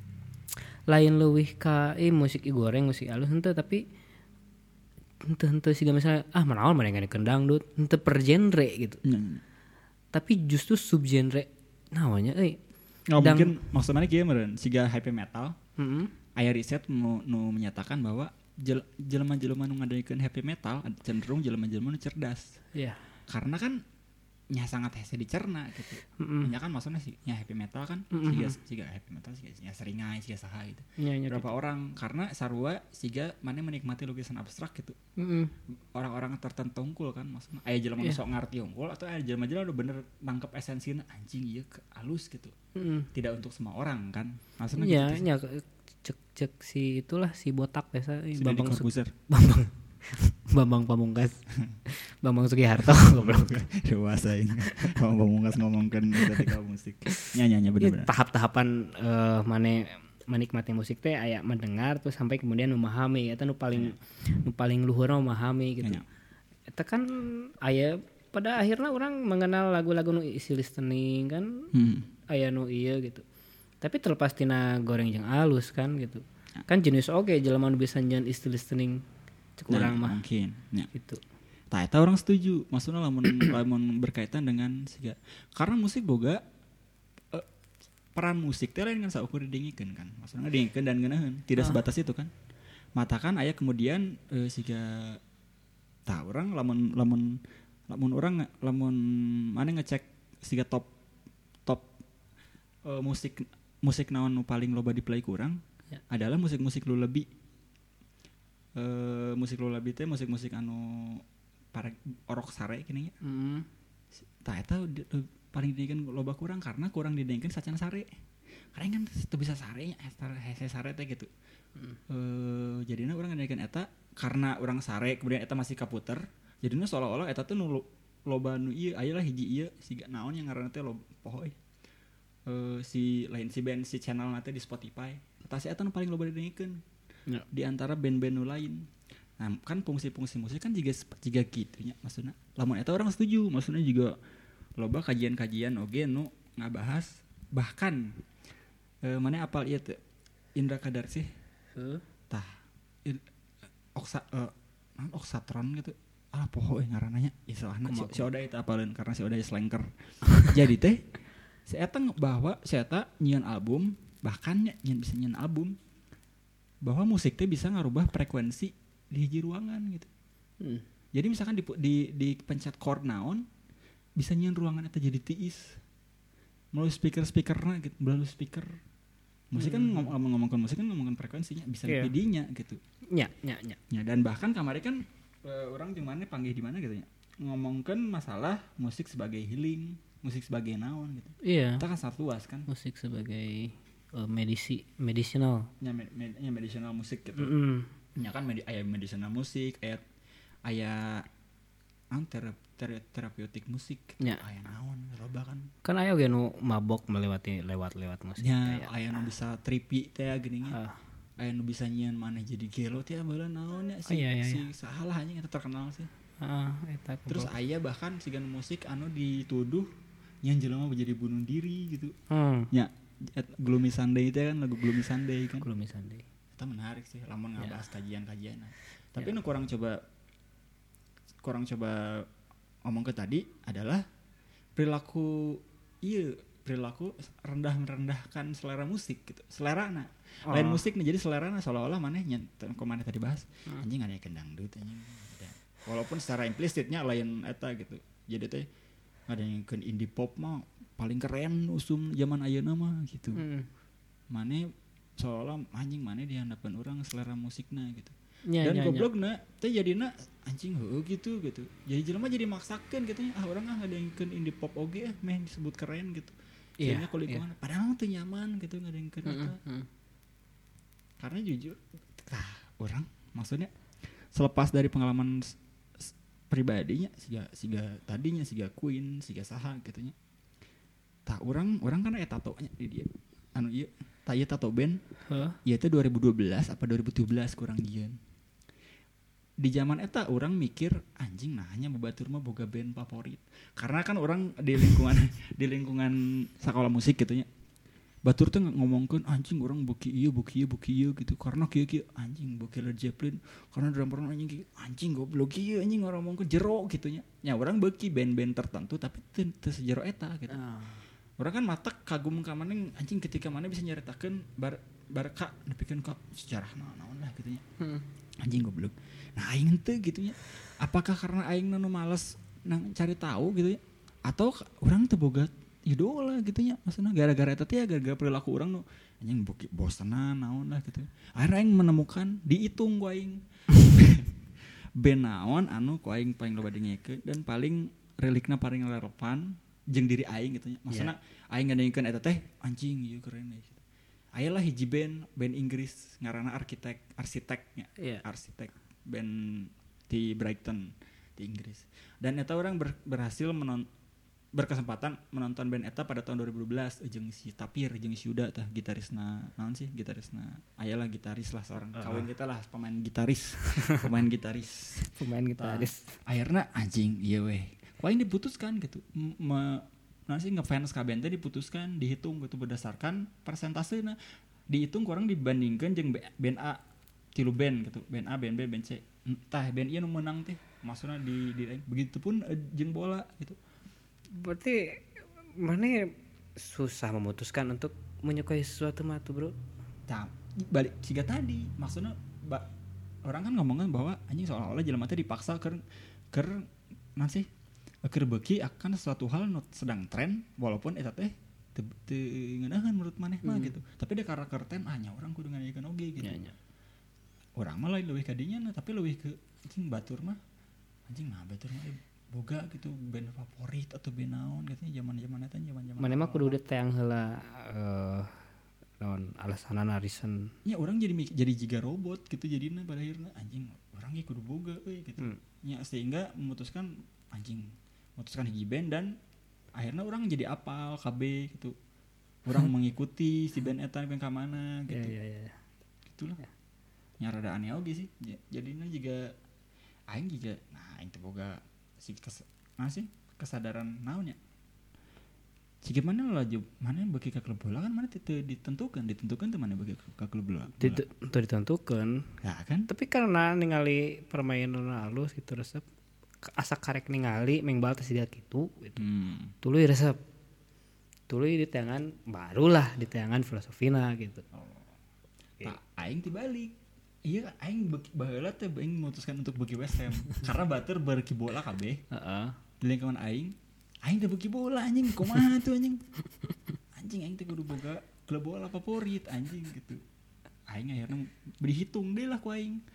Lain leuwih ka eh musik i goreng musik alus henteu, tapi henteu-henteu siga misalnya ah manaon maneh kendang dangdut henteu per genre gitu. Hmm. Tapi justru subgenre naonnya euy. Oh, mungkin maksudnya kieu meureun siga heavy metal. Heeh. Aya riset nu, nu menyatakan bahwa jel, jelema-jelema nu ngadeikeun heavy metal cenderung jelema-jelema nu cerdas. Iya. Yeah. Karena kan nya sangat hese dicerna gitu. Mm-hmm. Nya kan maksudnya sih nya heavy metal kan mm-hmm. siga siga heavy metal siga nya seringai siga saha gitu. Yeah, berapa gitu. Orang karena sarua siga maneh menikmati lukisan abstrak gitu. Mm-hmm. Orang-orang tertentu unggul kan maksudnya aya jelema yeah. sok ngarti unggul atau aya jelema-jelema udah bener nangkep esensinya anjing ieu halus gitu. Mm-hmm. Tidak untuk semua orang kan. Maksudnya yeah, gitu. Nya cek-cek si itulah si botak biasa si Bambang Su- Bambang Bambang Pamungkas. Bambang Sugiharto goblok. Dewasa ini. Bambang Pamungkas ngomongkeun estetika musik. Nya-nya bener-bener. Tahap-tahapan uh, mane menikmati musik teh aya mendengar terus sampai kemudian memahami eta nu paling nu paling luhur memahami gitu. Eta kan aya pada akhirnya orang mengenal lagu-lagu nu isi listening kan. Hmm. Aya nu ieu gitu. Tapi terlepas tina goreng jeung alus kan gitu. Kan jenis oge jelema nu bisa nyeun isi listening cek nah, urang mah mungkin ya. Gitu. Tah eta orang setuju. Maksudnya lamun lamun berkaitan dengan siga karena musik boga uh, peran musik teh lain kan saukur didengikeun kan. Maksudnya didengikeun dan ngeunaheun, tidak ah. sebatas itu kan. Mata kan aya kemudian uh, siga tah urang lamun lamun lamun urang lamun mana ngecek siga top top uh, musik musik naon nu paling loba di play ku urang ya. Adalah musik-musik lullaby. Uh, musik lullaby teh musik-musik anu para orok sare gini ya. Mm. Tah eta paling didengkeun loba kurang karena kurang didengkeun sacan sare. Karena kan teu bisa sare nya hese sare teh gitu. Mm. Uh, jadina urang ngadengkeun eta karena urang sare kemudian eta masih kaputer. Jadina seolah-olah eta teh nu loba nu ieu aya lah hiji ieu siga naon yang ngaranna teh loba poho euy. Uh, si lain si band si channel nanti di Spotify. Eta si eta nu paling loba didengkeun. Ya. Di antara band-band lain. Nah, kan fungsi-fungsi musik kan juga juga gitu nya maksudna. Lamun eta orang setuju, maksudnya juga loba kajian-kajian oge nu ngabahas bahkan e, mana apal ieu teh Indra Kadarsi. Heeh. Tah in, oksa e, oksatron gitu. Ah poho euy ngaranna nya. Istilahna si, si Oda eta apaleun karena si Oda slanker. Jadi teh si eta bahwa si eta nyieun album, bahkan nyieun bisa nyieun album bahwa musik teh bisa ngarubah frekuensi di hiji ruangan gitu. Hmm. Jadi misalkan di di di pencet chord naon bisa nyieun ruangan eta jadi tiis. Melalui speaker-speakerna gitu, melalui speaker. Musik kan hmm. ngom- ngomongkan musik kan ngomongkan frekuensinya, bisa yeah. didinya gitu. Nya, nya, nya. Ya dan bahkan kemarin kan uh, orang di mana panggil di mana gitu ya. Ngomongkan masalah musik sebagai healing, musik sebagai naon gitu. Iya. Yeah. Kita kan sangat luas kan. Musik sebagai medisi medicinal ya, med, med, ya medicinal musik gitu. Mm-hmm. Ya kan medi, aya medicinal musik, aya aya an tera, tera, terapeutik musik gitu. Ya. Aya naon loba kan. Kan aya ge nu mabok melewati lewat-lewat musik. Ya, aya nu bisa trippy teh geuning nya. Uh. Aya nu bisa nyieun maneh jadi gelo teh baheula naon ya si, oh, iya, iya, si iya. salah anjing eta terkenal sih. Heeh, uh, eta. Terus aya bahkan sigan musik anu dituduh nyen jelema menjadi bunuh diri gitu. Hmm. Ya Gloomy Sunday itu kan lagu Gloomy Sunday kan. Gloomy Sunday. Itu menarik sih, lamun ngabahas yeah. kajian-kajian. Tapi yeah. nu kurang coba kurang coba ngomong ke tadi adalah perilaku iya perilaku rendah merendahkan selera musik gitu. Selerana. Oh. Lain musik nih jadi selerana seolah-olah maneh nya kemana tadi bahas. Hmm. Anjing ada kendangdut anjing. Walaupun secara implisitnya lain eta gitu. Jadi teh ada yang ke indie pop mah paling keren usum zaman ayeuna mah gitu. Hmm. Mane seolah anjing mane di hadapan orang selera musikna gitu. Ya, dan ya, goblokna teh jadina anjing heuh gitu gitu. Jadi jelema jadi maksakeun gitu ah orang ah ngadengkeun indie pop oge ah meh disebut keren gitu. Jadinya kulit yeah. mana padahal teu nyaman gitu ngadengkeun eta. Mm-hmm. Karena jujur ah orang maksudnya selepas dari pengalaman pribadinya siga siga tadinya siga Queen siga saha gitunya. Tak orang orang kan eta tatonya di dia. Anu ieu, tak ieu tato band. Heeh. Ieu teh dua ribu dua belas apa dua ribu tujuh belas kurang jieun. Di zaman eta orang mikir anjing nah hanya babatur mah boga band favorit. Karena kan orang di lingkungan di lingkungan sekolah musik gitunya. Batur tuh ngomongkeun anjing orang buki ieu buki ieu buki ieu gitu. Karena kieu-kieu anjing buki Led Zeppelin karena drummer anjing kieu anjing goblok kieu anjing orang ngomongkeun jero gitunya. Nya urang beuki band-band tertentu tapi teu teu sejero eta gitu. Oh. Orang kan matak kagum ka maneh anjing ketika maneh bisa nyaritakeun bar barka nepikeun ka sejarah naon lah gitunya. Heeh. Anjing goblok. Nah aing teh gitunya. Apakah karena aing nu males nang cari tahu gitu ya atau orang teu boga idola gitunya maksudnya gara-gara eta teh gara-gara perilaku urang nu anjing bosenan naon lah gitu. Akhirnya aing menemukan dihitung ku aing. Band naon anu ku aing paling loba dengekeun dan paling relikna paling relevan jeung diri aing gitu nya. Maksudna yeah. Aing ngadengkeun eta teh anjing ieu keren gitu. Aya lah hiji band band Inggris ngaranna Arsitek Arsitek nya. Yeah. Arsitek band di Brighton di Inggris. Dan eta orang ber, berhasil menon, berkesempatan menonton band eta pada tahun dua ribu dua belas jeung si Tapir jeung si Yuda tah gitarisna naon sih gitarisna aya lah gitaris lah seorang uh-huh. Kawin kita lah pemain gitaris pemain gitaris pemain gitaris uh, akhirnya anjing iya weh paling diputuskan gitu me, nanti ngefans ka band teh diputuskan dihitung gitu berdasarkan persentasena dihitung kurang dibandingkan jeung band A tilu band gitu band A band B band C tah band ieu nu menang teh maksudna di, di begitupun uh, jeung bola gitu. Berarti mana susah memutuskan untuk menyukai sesuatu mah tuh bro? Nah, balik siga tadi maksudnya ba, orang kan ngomongin bahwa anjing seolah-olah jelema teh dipaksa ker ker nanti keur beuki akan sesuatu hal nu sedang tren walaupun eta teh teu ngeunaheun menurut maneh mah hmm. gitu. Tapi da karakter tren hanya orang kudu ngayakeun oge gitu. Ya, ya. Orang mah lain leuwih ka dinya nah, tapi leuwih ke anjing batur mah anjing mah batur mah boga gitu band favorit atau band naon katanya zaman-zaman eta zaman-zaman. Mana mah kudu ditayang heula eh naon alasanana reason. Ya orang jadi jadi jiga robot gitu jadinya pada akhirnya anjing orang ge kudu boga euy gitu. Hmm. Ya sehingga memutuskan anjing memutuskan hiji band dan akhirnya orang jadi apal K B gitu. Orang mengikuti si band eta band ka mana gitu. Ya ya ya. Gitulah. Ya. Nya rada aneh oge sih. Jadinya juga aing juga nah aing teh boga si kes, masih kesadaran naonnya. Si gimana lah jub mana bagi ke klub bola kan mana itu ditentukan ditentukan tuh mana bagi ke klub bola. Itu ditentukan. Ya kan? Tapi karena ningali permainan halus gitu resep asa karek ningali mengbal teh siga kitu gitu. Hmm. Tuluy resep. Tuluy di tangan barulah di tangan filosofina gitu. Oh. Okay. Tak aing tibalik. Iya, aing baheula teh aing memutuskan untuk beuki West Ham karena batur beuki bola kabeh. Heeh. Di lingkungan aing, aing teh beuki bola anjing, kumaha tuh anjing. Anjing aing teh kudu boga klub bola favorit anjing gitu. Aing akhirnya berhitung deh lah ku aing.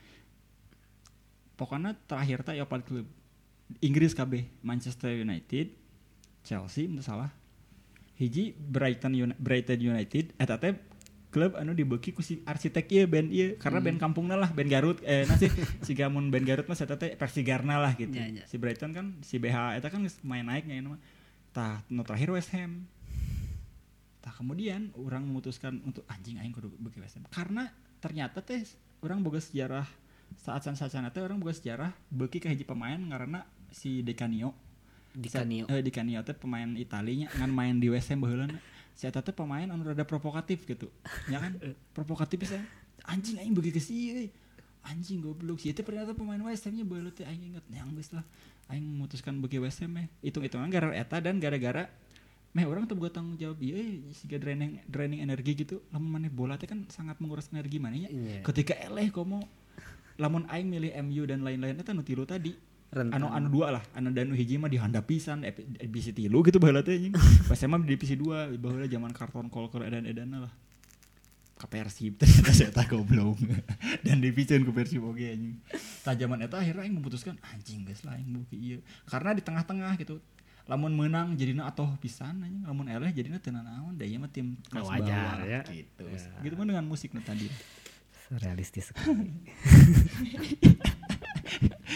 Pokoknya terakhir teh ya klub Inggris kabeh, Manchester United, Chelsea mun salah. Hiji Brighton Uni- Brighton United eta teh klub anu dibeuki ku si Arsitek ieu band ieu karena hmm. band kampungna lah band Garut eh nasi siga mun band Garut mah eta teh Persigarna lah gitu. Ya, ya. Si Brighton kan si B H eta kan main naiknya ini mah. Tah nu terakhir West Ham. Tah kemudian orang memutuskan untuk anjing aing kudu beuki West Ham karena ternyata teh orang boga sejarah saat saat-saat teh orang boga sejarah beuki ka hiji pemain ngaranna si Di Canio. Di Canio. Eh Di Canio teh pemain Italinya ngan main di West Ham baheulana. Si eta teh pemain anu rada provokatif gitu. Ya kan? Provokatif bisa. Anjing aing beuki ke si euy. Anjing goblok. Si eta ternyata pemain West Ham-nya baheula teh aing inget yang geus lah. Aing memutuskan beuki West Ham meh. Hitung-hitungan gara-gara eta dan gara-gara meh orang teu boga tanggung jawab ieu euy siga draining draining energi gitu. Lamun maneh bola teh kan sangat menguras energi maneh nya. Yeah. Ketika eleh komo lamun aing milih M U dan lain-lain eta nu tilu tadi. Rentan. Anu anu dua lah, anu danu hiji mah dihandap pisan, divisi tilu gitu baheula teh anjing. Pas emang divisi dua, baheula zaman karton kolker edan-edanna lah. Ka Persib ternyata saya tak goblok. Dan divisian ku Persib oge anjing. Tah zaman eta akhirnya aing memutuskan anjing geus lah aing beuki ieu. Karena di tengah-tengah gitu. Lamun menang jadina atoh pisan anjing, lamun eleh jadina teu naon, da ieu mah tim kelas bawah ya. Gitu. Ya. Gitu mah dengan musik nu tadi. Realistis sekali.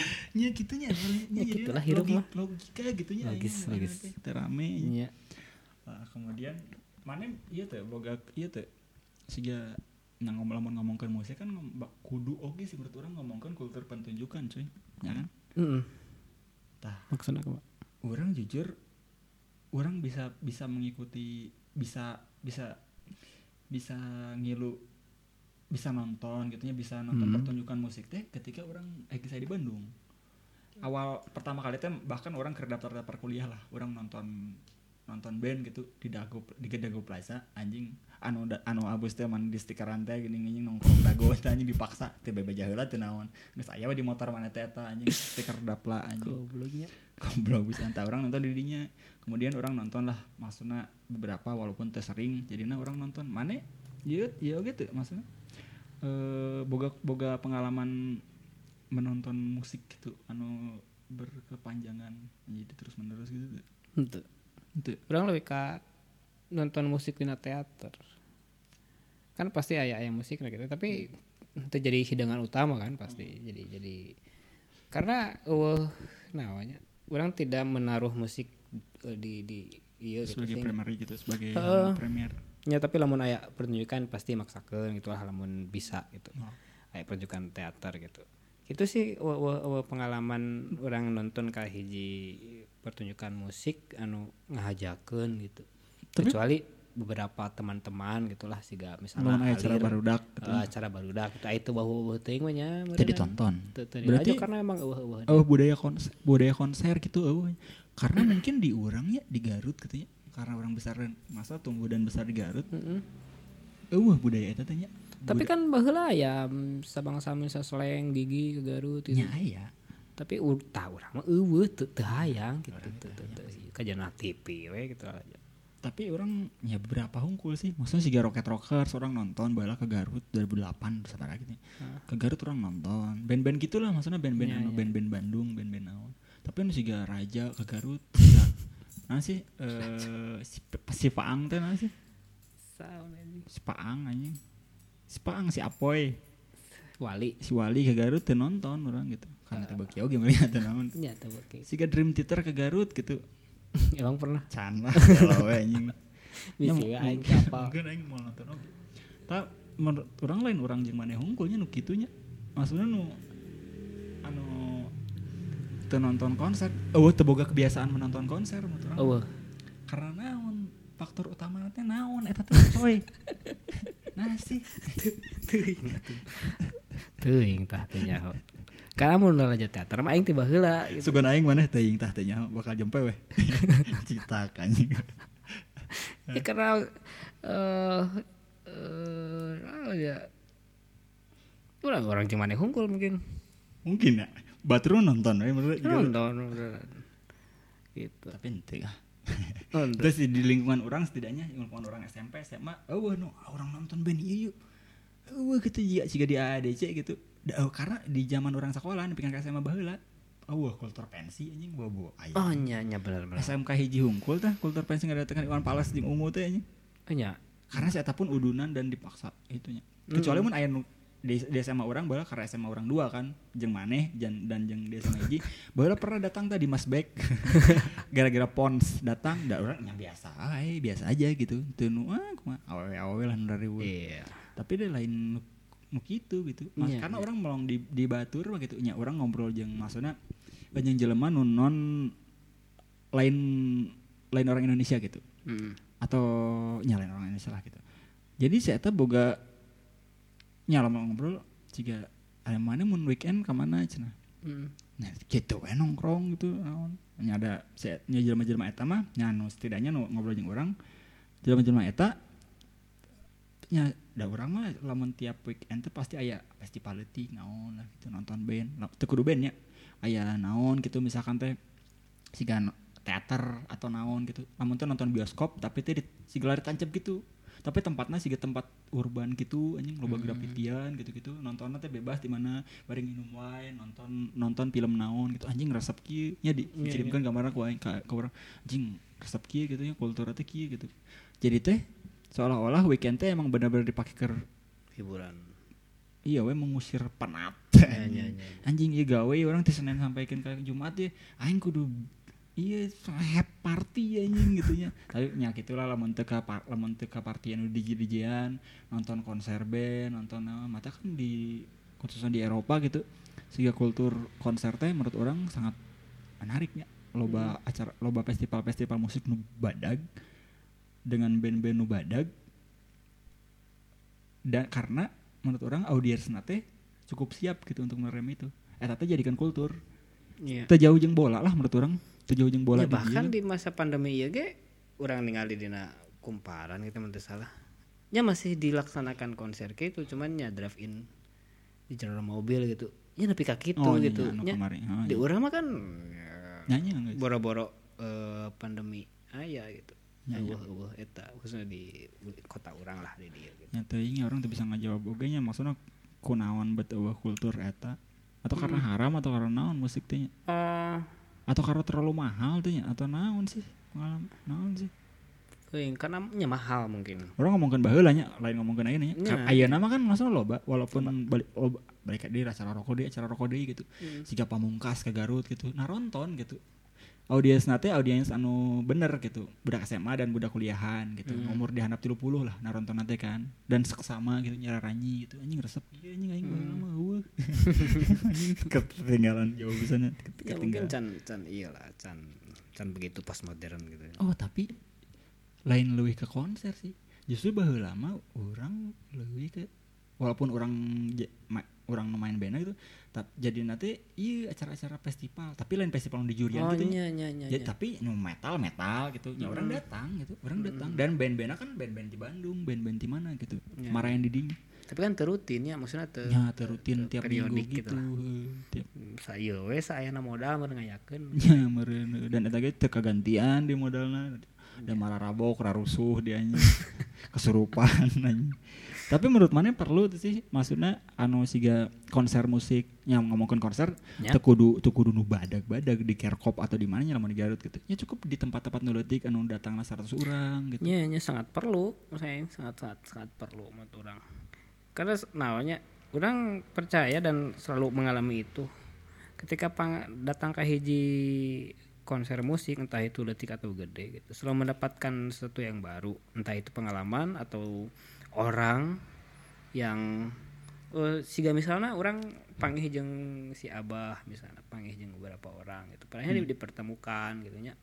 nya gitunya ya gitulah hidup mah logika gitunya logis logis terame nya uh, kemudian mana ieu teh boga ieu teh siga nang ngomong ngomongkeun musik kan kudu oge sih menurut urang ngomongkeun kultur pertunjukan cuy ya kan heeh tah maksudna kumaha urang jujur urang bisa bisa mengikuti bisa bisa bisa ngilu bisa nonton gitunya bisa nonton hmm. pertunjukan musik teh ketika orang eh saya di Bandung awal pertama kali teh bahkan orang ke daftar daftar kuliah lah orang nonton nonton band gitu di Dago di Dago Plaza anjing anu anu abus teh man di stikeran teh gini-gini nongkrong Dago teh anjing dipaksa teh bebas heula teh naon geus aya we di motor mana teh eta anjing stiker dapla anjing gobloknya goblok bisa entah orang nonton di dinya kemudian orang nonton lah maksudna beberapa walaupun teh sering jadinya orang nonton mana ieu ieu gitu maksudnya Uh, boga boga pengalaman menonton musik gitu anu berkepanjangan jadi terus menerus gitu itu itu orang lebih ke nonton musik di teater kan pasti aya aya musik gitu tapi itu jadi hidangan utama kan pasti hmm. jadi jadi karena uh, namanya orang tidak menaruh musik uh, di di iya sebagai gitu, primary gitu sebagai uh, premier. Ya tapi lamun aya pertunjukan pasti maksakeun gitu lah lamun bisa gitu. Oh. Aya pertunjukan teater gitu. Itu sih w- w- w- pengalaman orang nonton ka hiji pertunjukan musik anu ngahajakeun gitu. Tapi, kecuali beberapa teman-teman gitulah siga misalnya acara barudak gitu. Uh, acara barudak itu itu bahu-bahu teuing mah nya. Teu ditonton. Berarti karena emang eueuh-eueuh. Oh budaya konser, budaya konser gitu eueuh. Karena mungkin di urang ya di Garut gitu ya. Karena orang besar masa tumbuh dan besar di Garut. Heeh. Mm-hmm. Eueuh budaya eta teh nya. Tapi kan baheula aya sabang-sami sasleng gigi ke Garut gitu. Nya aya. Tapi tah urang mah eueuh teu teu hayang gitu teu teu kajana T V we gitu aja. Tapi orang ya beberapa hungkul sih. Maksudnya si Rocket Rockers orang nonton bala ke Garut dua ribu delapan sabaraha gitu. Ke Garut orang nonton. Band-band gitulah maksudnya band-band ya, anu ya. Band-band Bandung, band-band naon. Tapi anu si Raja ke Garut. Nah sih eh si, si Paang teh nah sih. Si Paang anjing. Si Paang si Apoy. Wali. Si Wali ke Garut teh nonton orang gitu. Karena teh beuki oge melihat teh naon. Nya teh beuki. Siga Dream Theater ke Garut gitu. Emang pernah? Can lah kalau we anjing. Bisa aing kapal. Mungkin aing mau nonton oge. Ta menurut urang lain urang jeung maneh hungkulnya nu kitu nya. Maksudna nu anu teu nonton konser. Eueuh teu boga kebiasaan menonton konser menurut urang. Eueuh. Karena naon faktor utama teh naon eta teh coy. Nah sih teuing teuing tah teh nyaho. Karena mun raja teater mah aing teh baheula gitu. Sugan aing maneh teuing tah teh nyaho bakal jempe we. Citak anjing. Ya karena eh uh, ya urang orang jeung maneh hungkul mungkin. Mungkin ya. Batur nonton we menurut nonton gitu. Tapi henteu ah. Terus di lingkungan orang setidaknya lingkungan orang S M P S M A eueuh no orang nonton band ieu. Eueuh kitu jiga siga di A D C gitu. Da, karena di zaman orang sekolah nepikeun ka S M A baheula. Eueuh kultur pensi anjing bobo aya. Oh nya nya bener bener. S M K hiji hungkul tah kultur pensi ngadatangan Iwan Fals jeung Ungu teh anjing. Nya. Karena si eta pun udunan dan dipaksa itunya. Kecuali mun aya nu di, di S M A orang baheula karena S M A orang dua kan jeung maneh dan dan jeung di S M A hiji baheula pernah datang tadi Mas Bek gara-gara Pons datang da urang nya biasa ae biasa aja gitu teu nu ah kumaha awewe lah nu rariweuh iya tapi dia lain nu kitu gitu Mas, yeah, karena yeah. Orang melong di di batur gitu nya orang ngobrol jeung maksudna jeung jelema nu non lain lain orang Indonesia gitu mm. atau nya lain orang Indonesia lah gitu jadi saya eta boga nya lama ngobrol ciga aya mana mun weekend ka mana cenah. Heeh. Mm. Nah, kitu we nongkrong gitu naon. Nya ada nya jelema-jelema eta mah nya anu setidaknya nu ngobrol jeung urang. Jelema-jelema eta nya da urang mah lamun tiap weekend teh pasti aya festival leutik naon lah gitu nonton band. Teu kudu band nya. Aya naon gitu misalkan teh siga teater atau naon gitu. Lamun teh nonton bioskop tapi teh siga lari tancep gitu. Tapi tempatnya sih tempat urban gitu anjing loba hmm. grafitian gitu-gitu nontonnya teh bebas di mana bareng minum wine nonton nonton film naon gitu anjing resep kieu nya dikirimkeun yeah, yeah. Gambarna ku aing ka urang anjing resep kieu gitu nya kultur teh kieu gitu jadi teh seolah-olah weekend teh emang benar-benar dipake keur hiburan iya we mengusir penat. Ya, ya, ya. Anjing ieu gawe urang ti Senin sampaikeun ka Jumat ya aing kudu iya happy party anjing gitu nya. Tapi nya kitulah lamun teu ka lamun teu ka party anu D J-D J-an, nonton konser band, nonton apa mata kan di khususnya di Eropa gitu. Siga kultur konser teh menurut orang sangat menariknya. Loba hmm. acara loba festival-festival musik nu badag dengan band-band nu badag. Dan karena menurut orang audiensna teh cukup siap gitu untuk menerima itu. Eta teh jadikan kultur. Iya. Teu jauh jeung bola lah menurut orang. Teu jauh jeung bola. Ya, bahkan di masa pandemi ieu ge urang ningali dina kumparan gitu mun teu salah. Nya masih dilaksanakan konser kitu cuman nya drive in di jalur mobil gitu. Ya nepi ka kitu oh, gitu. Nya oh, di urang mah kan nyanyi ya, boro-boro uh, pandemi aya gitu. Eueuh eueuh eta khususnya di kota urang lah di dieu gitu. Nya teuing orang teu bisa ngajawab oge nya maksudna kunaon bet eueuh kultur eta atau karena hmm. haram atau karena naon musik teh nya? Uh, atau karena terlalu mahal teh nya atau naon sih? Naon sih? Teuing karena nya mahal mungkin. Orang ngomongkeun baheula nya, lain ngomongkeun ayeuna nya. Ayeuna mah kan maksudna loba walaupun balik loba balik di acara rokok deui acara rokok deui gitu. Hmm. Siga Pamungkas ke Garut gitu. Naronton gitu. Audiens nate audiens anu bener gitu. Budak S M A dan budak kuliahan gitu. Hmm. Umur di handap tilu puluh lah naronton nate kan. Dan seksama gitu nyararanyi gitu. Anjing resep ieu anjing aing baheula mah eueuh. Anjing ketinggalan jauh pisan ketinggalan. Ya mungkin can can iyalah can can begitu postmodern gitu. Oh, tapi lain leuwih ke konser sih. Justru baheula mah urang leuwih ke walaupun orang ma, orang main band gitu tapi jadi nanti iya acara-acara festival tapi lain festival di jurian oh, gitu iya, iya, iya, ya, tapi no metal metal gitu ya mm. orang datang gitu orang mm. datang dan band-bandnya kan band-band di Bandung band-band di mana gitu ya. Marahin di ding tapi kan terutin ya maksudnya ter ya terutin tiap minggu gitu, gitu tiap saya we saya na modal meureun ngayakeun ya meureun dan eta ge teu kagantian di modalna dan marah rabok rarusuh dia nya kesurupan anjing. Tapi menurut mana perlu sih maksudnya anu siga konser musik yang ngomongkeun konser teu kudu teu kudu nu badag-badag di Kerkop atau di mana nya lamun di Garut gitu. Ya cukup di tempat-tempat nu leutik anu datangna seratus urang gitu. Nya nya sangat perlu, saya sangat sangat sangat perlu menurut urang. Karena naonnya urang percaya dan selalu mengalami itu. Ketika pang, datang ke hiji konser musik entah itu leutik atau gede gitu. Selalu mendapatkan sesuatu yang baru, entah itu pengalaman atau orang yang uh, siga misalnya orang panggih jeung si Abah misalnya panggih jeung beberapa orang gitu padahal hmm. dipertemukan gitu nya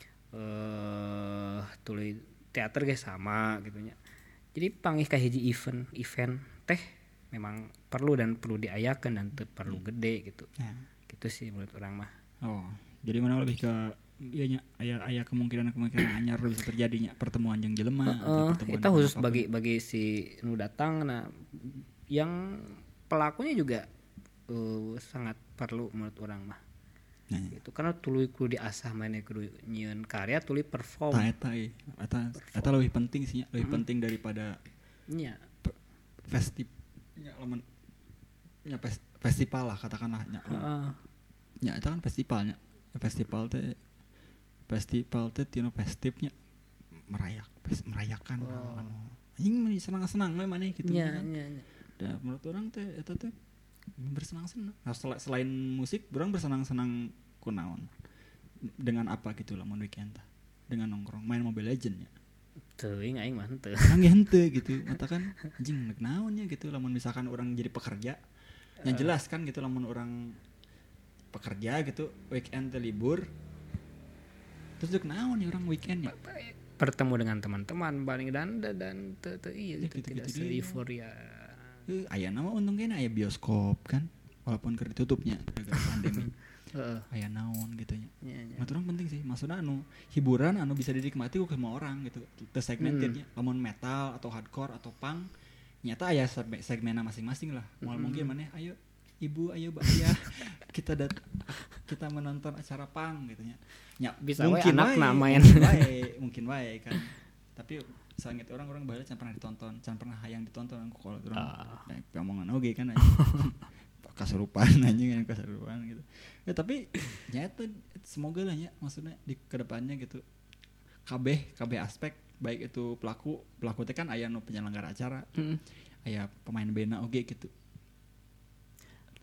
eh uh, tuluy teater ge sama gitu nya jadi panggih ka hiji event event teh memang perlu dan perlu diayakeun dan teu perlu hmm. gede gitu ya. Gitu sih menurut orang mah. Oh jadi mana lebih ke iya nya aya aya kemungkinan-kemungkinan anyar bisa terjadinya pertemuan jeung jelema uh, uh, itu khusus bagi bagi si nu datang nah yang pelakunya juga uh, sangat perlu menurut orang mah. Nah, gitu karena tuluy kudu diasah maneh kudu nyieun karya tuluy perform. Tah eta eta eta lebih penting sih nya, lebih hmm. penting daripada nya festival nya lamun nya festival lah katakanlah nya. Heeh. Uh. Nya eta kan festivalnya. Festival teh festival teh tino festifnya merayak merayakan oh. anjing senang-senang we maneh gitu ya, kan. Ya, ya. Da menurut orang teh eta teh bersenang-senang. Nah, sel- selain musik, orang bersenang-senang kunaon. Dengan apa gitu lah mun weekend tah. Dengan nongkrong main Mobile Legends nya. Teuing aing mah henteu. Urang ge henteu gitu. Mata kan anjing neuk naon nya gitu lamun misalkan orang jadi pekerja. Yang jelas kan gitu lamun orang pekerja gitu weekend teh libur. Terus dek naon nih orang weekendnya bertemu dengan teman-teman paling dan dan te, te, iya gitu, gitu, tidak se-euforia. Uh, aya nama untung kena aya bioskop kan walaupun keur ditutupnya gara-gara pandemi. Heeh. Aya naon gitu nya. Ya, ya. Nah, orang penting sih maksudna anu hiburan anu bisa dinikmati ku semua orang gitu. Teu segmentednya hmm. lamun metal atau hardcore atau punk nyata aya segmenna masing-masing lah. Moal hmm. mungkin maneh ayo ibu ayo mbak ya kita dat kita menonton acara pang gitu nya ya, bisa mungkin anak main wae mungkin wae kan tapi sangat orang-orang baheula can pernah ditonton can pernah hayang ditonton aku kalau orang uh. nah, omongan oge kan kasurupan anjing kan kasurupan gitu ya tapi nyata semoga lah nya maksudnya di kedepannya gitu kabeh kabeh aspek baik itu pelaku pelaku teh kan aya nu penyelenggara acara mm. aya pemain bena oge gitu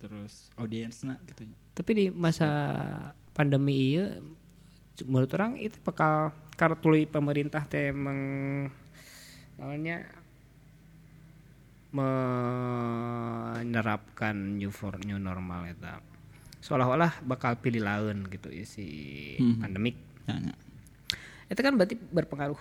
terus audiensna gitu. Tapi di masa pandemi ieu menurut orang itu bakal karena tuluy pemerintah teh meng namanya menerapkan new for new normal eta. Seolah-olah bakal pilih laun gitu si hmm. pandemik. Ya, ya. Itu kan berarti berpengaruh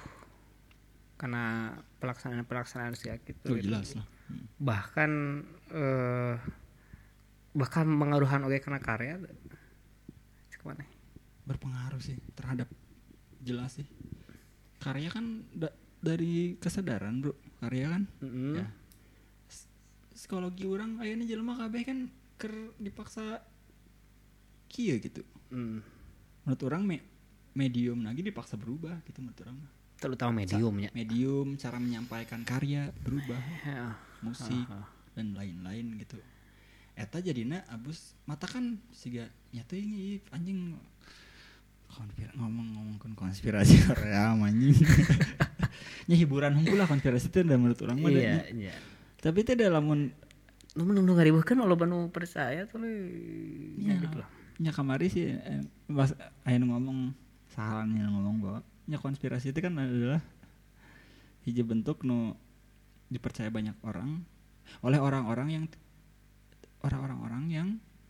karena pelaksanaan-pelaksanaan sih gitu. Oh, jelas lah. Hmm. Bahkan eh, bahkan mengaruhan oke karena karya. Kemana? Berpengaruh sih terhadap jelas sih. Karya kan da- dari kesadaran, Bro. Karya kan. Mm-hmm. Ya. Psikologi orang ayeuna jelema kabeh kan ker dipaksa kieu gitu. Mm. Menurut orang me- medium lagi dipaksa berubah gitu menurut orang. Terutama mediumnya. Medium, cara menyampaikan karya berubah. Ya. Musik uh-huh. dan lain-lain gitu. Eta jadina abus mata kan siga nyata ini anjing konspirasi ngomong-ngomongkeun konspirasi Korea anjing. Nya hiburan hungkul lah konspirasi teh menurut orang mah. Iya, iya. Tapi teh da lamun nu nu ngariweuhkeun loba nu percaya tuh ya gitu lah. Nya kamari sih eh, pas aya nu ngomong sahalannya ngomong bahwa nya konspirasi itu kan adalah hiji bentuk nu dipercaya banyak orang oleh orang-orang yang orang-orang yang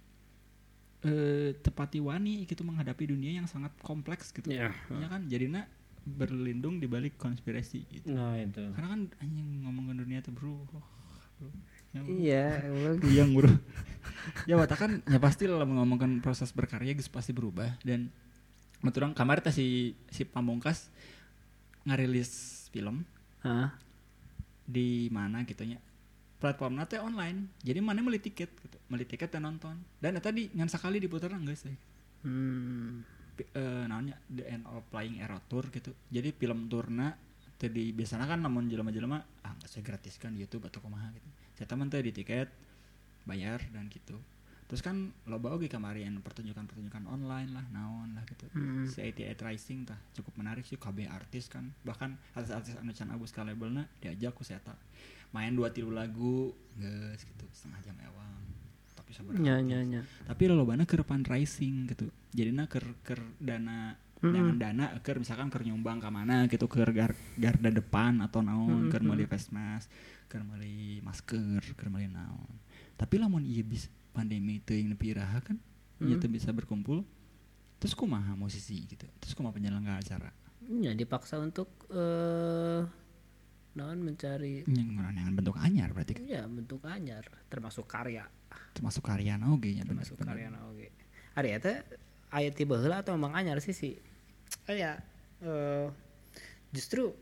eh, tepati wani gitu menghadapi dunia yang sangat kompleks gitu. Ya, ya kan jadinya berlindung di balik konspirasi gitu. Nah, itu. Karena kan anjing ngomongin dunia tuh bro. bro. Ya, bro. Iya, yang bro. Ya wata kan ya pasti lah ngomongin proses berkarya geus pasti berubah dan menurut kamar teh si si Pamungkas ngarilis film. Hah? Di mana gitunya? Platformnya teh online. Jadi mana beli tiket gitu. Beli tiket dan nonton. Dan tadi ngan sakali diputer geus teh. Hmm. P- uh, namanya The End of Flying Arrow Tour gitu. Jadi film tourna tadi biasanya kan namun jelema-jelema ah geus gratis kan di YouTube atau kumaha gitu. Saya teman teh di tiket bayar dan gitu. Terus kan loba oge kamarian pertunjukan-pertunjukan online lah, naon lah gitu. Hmm. Si I T I Rising tah cukup menarik sih, K B artis kan. Bahkan artis-artis anu can abus ka labelna diajak ku saya main dua tilu lagu geus gitu setengah jam ewang tapi sabar nya nya nya tapi lolobana keur fundraising gitu jadina keur keur dana mm-hmm. dengan dana keur misalkan keur nyumbang ka mana gitu keur gar, garda depan atau naon mm-hmm. keur meuli face mask keur meuli masker keur meuli naon tapi lamun ieu bis pandemi teuing nepi iraha kan mm-hmm. ieu teu bisa berkumpul terus kumaha musisi gitu terus kumaha penyelenggara acara nya dipaksa untuk uh... naon mencari yang bentuk anyar berarti kan? Iya bentuk anyar termasuk karya termasuk karya oge nya termasuk karya oge ari eta aya tiba heula atau memang anyar sih sih aya uh, justru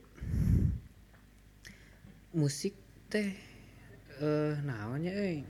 musik teh uh, naonnya euy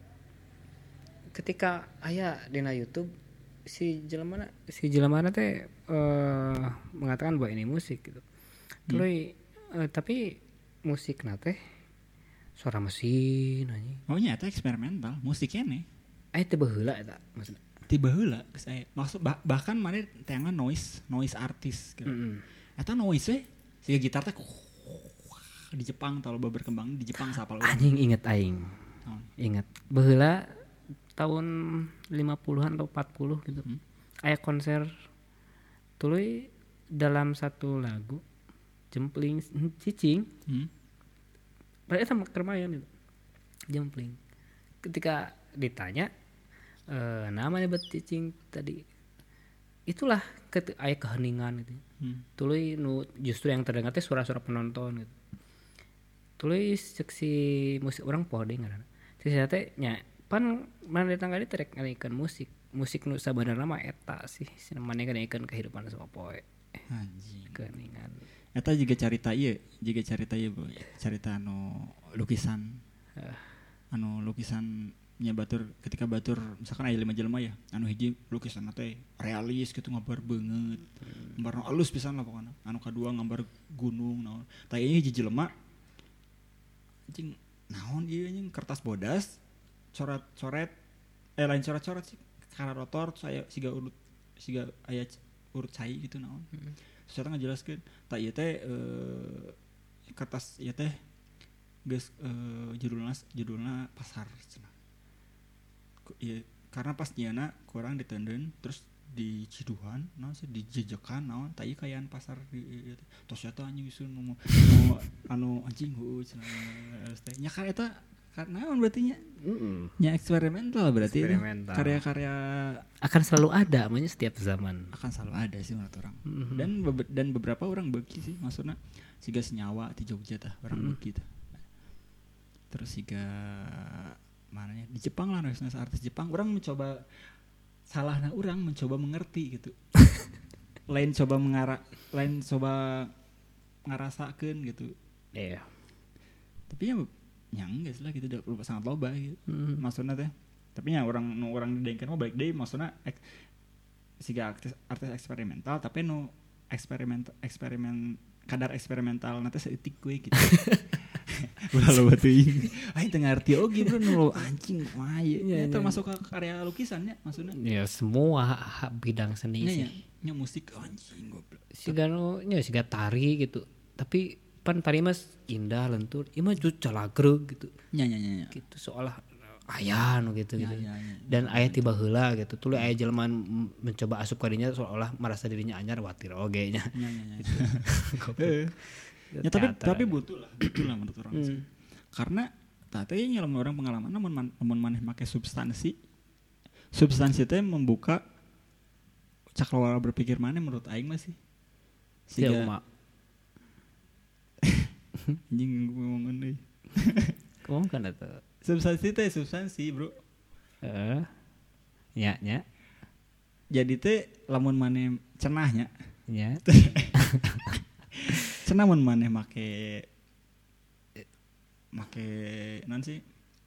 ketika aya dina YouTube si jelemana si jelemana teh uh, mengatakan bahwa ini musik gitu hmm. Terus uh, tapi musik nate suara mesin anjing. Oh nya eta eksperimental, musik keneh. Eh teu baheula eta maksudna. Teu baheula geus aya. Maksud bah, bahkan maneh teangan noise, noise artist gitu. Mm-hmm. Eta noise we siga gitar teh di Jepang tah loba berkembang di Jepang sapal urang. Anjing inget aing. Oh. Inget baheula tahun lima puluhan atau empat puluh gitu. Hmm. Aya konser tuluy dalam satu lagu jempling cicing hmm. Mereka sama kermayan itu jempling ketika ditanya e, namanya buat cicing tadi itulah ke aya keheningan gitu hmm. Tuluy nu justru yang terdengar teh suara-suara penonton gitu tuluy seksi musik orang poho deui ngaranna saya teh nya pan mana datang kali terek ngalikeun musik musik nu sabenerna mah eta sih mane ngalikeun kehidupan sama poe anjing keheningan eta juga carita ieu juga carita ieu carita anu lukisan uh. anu lukisan nya batur ketika batur misalkan aya lima jelema ya anu hiji lukisan teh realis gitu gambar beungeut hmm. gambar alus pisan lah pokona anu kadua gambar gunung naon tah ieu hiji jelema anjing naon ieu anjing kertas bodas coret-coret eh lain coret-coret sih kana rotor saya siga urut siga aya urut cai gitu naon hmm. Saya ngajelaskeun tah ieu teh uh, kertas ieu teh geus uh, judulna judulna pasar cenah. ya, karena pas nyana kurang ditenden terus di Ciduhan naon sih dijejekan naon tadi kayaan pasar di tos eta anjing isun nu anu anjing heuh nya kan eta karena naon berarti nya mm-mm. nya eksperimental berarti eksperimental. Karya-karya akan selalu ada namanya setiap zaman akan selalu ada sih menurut orang mm-hmm. dan be- dan beberapa orang beuki sih maksudnya siga senyawa di Jogja tah orang mm-hmm. beuki tah terus siga mananya di Jepang lah nulis artis Jepang orang mencoba salahna orang mencoba mengerti gitu lain coba mengarah lain coba ngarasakeun gitu iya yeah. tapi ya yang enggak lah gitu udah sangat loba gitu mm-hmm. maksudnya teh tapi ya orang nu orang didengkeun mah balik deui maksudnya ek, siga artis artis eksperimental tapi nu eksperimen eksperimen kadar eksperimental nanti seetik gue gitu udah lo batuin aing teu ngarti oge bro nu anjing mah ya termasuk ke karya lukisannya maksudnya ya semua bidang seni ya, sih ya, ya musik anjing goblok siga nu nya siga tari gitu tapi pan tari mas indah lentur ieu mah calagreg gitu nya nya nya gitu seolah aya nu gitu ya, gitu ya, ya, dan ya, aya tiba heula gitu tuluy aya jelema mencoba asup ka dinya seolah merasa dirinya anyar watir oge nya nya nya ya tapi tapi butuh lah butuh lah menurut orang hmm. sih karena tadi nyelem orang pengalaman namun man, namun maneh make substansi substansi itu membuka cakrawala berpikir maneh menurut aing masih siga ya, anjing ngomongin deui ngomong kan eta substansi teh substansi bro heeh uh, nya nya jadi teh lamun maneh cenahnya nya cenah mun maneh make make non sih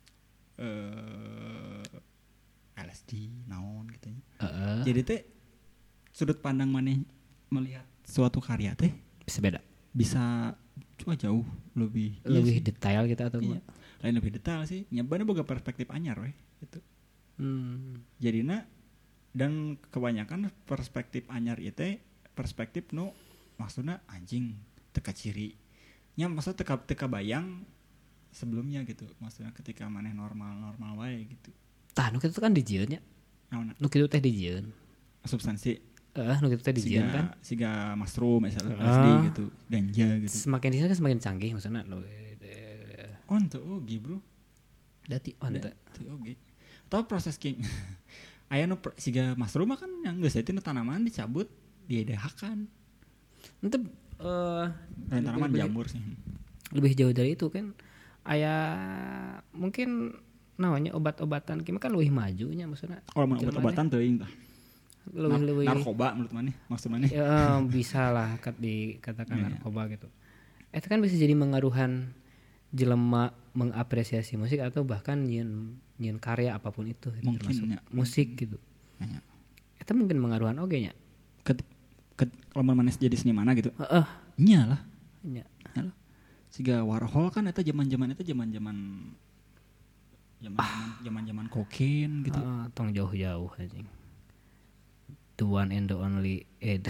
eh uh, L S D naon gitu nya. Uh-uh. Jadi teh sudut pandang maneh melihat suatu karya teh bisa beda. Bisa cuma jauh lebih lebih iya detail gitu atau iya. Lain lebih detail sih. Nyebana boga perspektif anyar we gitu. Hmm. Jadina dan kebanyakan perspektif anyar itu perspektif nu maksudnya anjing teka ciri nya maksud teka teka bayang sebelumnya gitu maksudnya ketika maneh normal normal wae gitu tah nu kitu kan dijieun nya naon nu kitu teh dijieun substansi eh nu kitu teh dijieun kan siga mushroom misalnya L S D uh, gitu ganja gitu semakin di sana semakin canggih maksudnya lo on tuh oge bro dati on teh oge tau proses king aya nu siga mushroom kan yang geus eta tanaman dicabut diedahakan itu uh, tanaman jamur sih lebih jauh dari itu kan aya mungkin namanya obat-obatan kimi kan lebih majunya maksudnya oh obat-obatan teuing tah lebih lebih narkoba menurut maneh maksud maneh ya bisa lah kat dikatakan yeah, narkoba yeah. gitu itu kan bisa jadi mengaruhan jelema mengapresiasi musik atau bahkan nyieun nyieun karya apapun itu gitu, mungkin, termasuk ya. musik gitu ya. Itu mungkin mengaruhan oge nya kalau maneh jadi seniman gitu. Heeh. Uh, nya lah. Nya. Nya lah. Siga Warhol kan eta zaman-zaman eta zaman-zaman zaman-zaman zaman-zaman kokain gitu. Uh, tong jauh-jauh anjing. The one and the only Ed.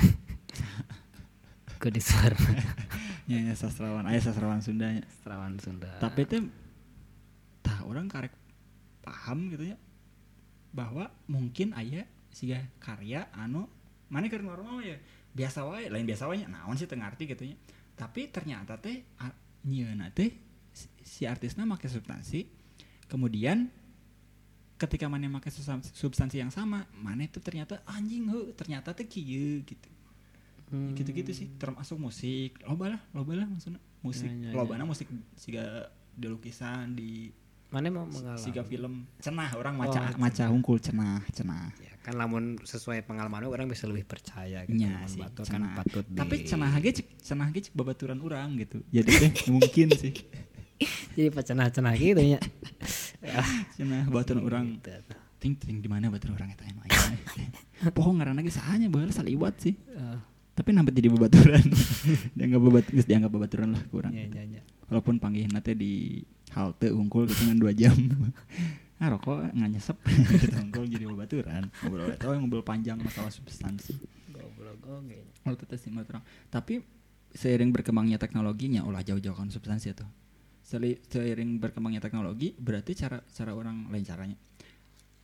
Kedisar. Nya nya sastrawan, aya sastrawan Sunda nya. Sastrawan Sunda. Tapi teh tah orang karek paham gitu ya bahwa mungkin aya siga karya anu maneh keur normal ya biasa wae lain biasa wae naon sih teu ngarti gitu nya tapi ternyata teh nyieuna teh si artisna make substansi kemudian ketika maneh make substansi yang sama maneh tuh ternyata anjing heuh ternyata teh kieu gitu hmm. gitu-gitu sih termasuk musik loba lah loba lah maksudna musik ya, ya, lobana ya. Musik siga di lukisan di maneh mau mengalami siga film cenah orang maca oh, maca hungkul cenah cenah ya, kan lamun sesuai pengalaman orang bisa lebih percaya gitu ya, sih, batur kan patut di... tapi cenah ge cenah ge babaturan urang gitu jadi teh mungkin sih jadi pacenah-cenah gitu nya cenah babaturan urang ting ting di mana babaturan urang eta aya pohon ngaranna ge sahanya baheula saliwat sih uh. tapi nampet jadi babaturan dianggap babat geus dianggap babaturan lah kurang ya, ya, ya. walaupun panggihna teh di halte unggul gitu kan dua jam ah rokok nggak nyesep gitu unggul jadi babaturan ngobrol itu ngobrol panjang masalah substansi ngobrol oke kalau itu sih terang tapi seiring berkembangnya teknologinya ulah jauh-jauh kan substansi itu seiring berkembangnya teknologi berarti cara cara orang lain caranya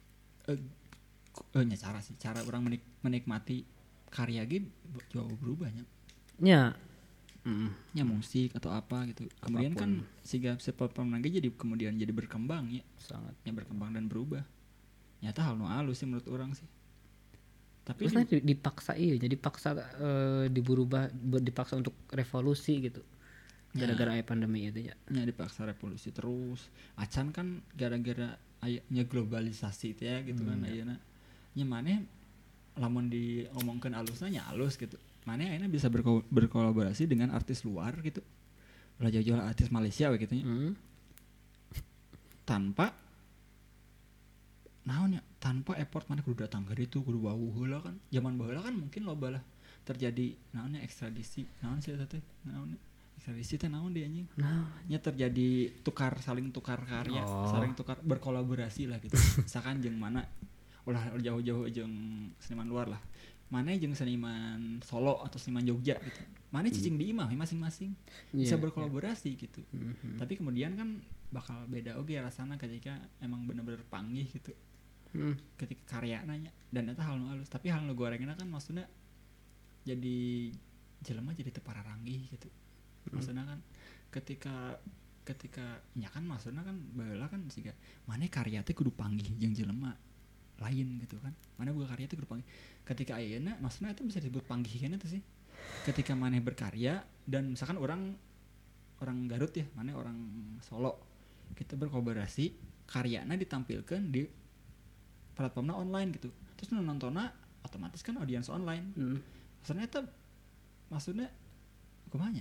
eh, eh nya cara sih cara orang menik, menikmati karya gitu jauh berubahnya nya mm. nya musik atau apa gitu kemudian apapun. Kan siga sepemang jadi kemudian jadi berkembang ya sangatnya berkembang dan berubah nyata hal nu halus sih menurut orang sih tapi terus di, dipaksa iya jadi paksa uh, diberubah dipaksa untuk revolusi gitu gara-gara ya, pandemi itu ya nya dipaksa revolusi terus acan kan gara-gara ayatnya globalisasi itu ya gitu hmm, kan ya. Ayeuna nya maneh lamun diomongkeun alusna nya alus gitu maneh ayeuna bisa berko- berkolaborasi dengan artis luar gitu ulah jauh-jauh artis Malaysia we gitu nya hmm. tanpa naonnya tanpa effort maneh kudu datang ke ditu kudu wawuh heula kan zaman baheula kan mungkin loba lah terjadi naonnya ekstradisi naon sih eta teh naon ekstradisi teh naon dia anjing nah nya terjadi tukar saling tukar karya oh. saling tukar berkolaborasi lah gitu misalkan jeung mana ulah jauh-jauh jeung seniman luar lah mana jeung seniman Solo atau seniman Jogja gitu mana cicing hmm. di imah masing-masing bisa yeah, berkolaborasi yeah. gitu mm-hmm. tapi kemudian kan bakal beda oge rasana ketika emang bener-bener panggih gitu hmm. ketika karya nanya dan eta hal nu halus tapi hal nu gorengna kan maksudnya jadi jelema jadi teu pararanggih gitu maksudnya kan ketika ketika nya kan maksudnya kan baheula kan siga maneh karya teh kudu panggih jeung jelema lain gitu kan maneh boga karya teh kudu panggih ketika ayeuna maksudnya itu bisa disebut panggih kana tuh sih ketika maneh berkarya dan misalkan orang orang Garut ya maneh orang Solo kita berkolaborasi karyana ditampilkan di platformna online gitu terus nontonnya otomatis kan audiens online hmm. maksudnya itu maksudnya kumanya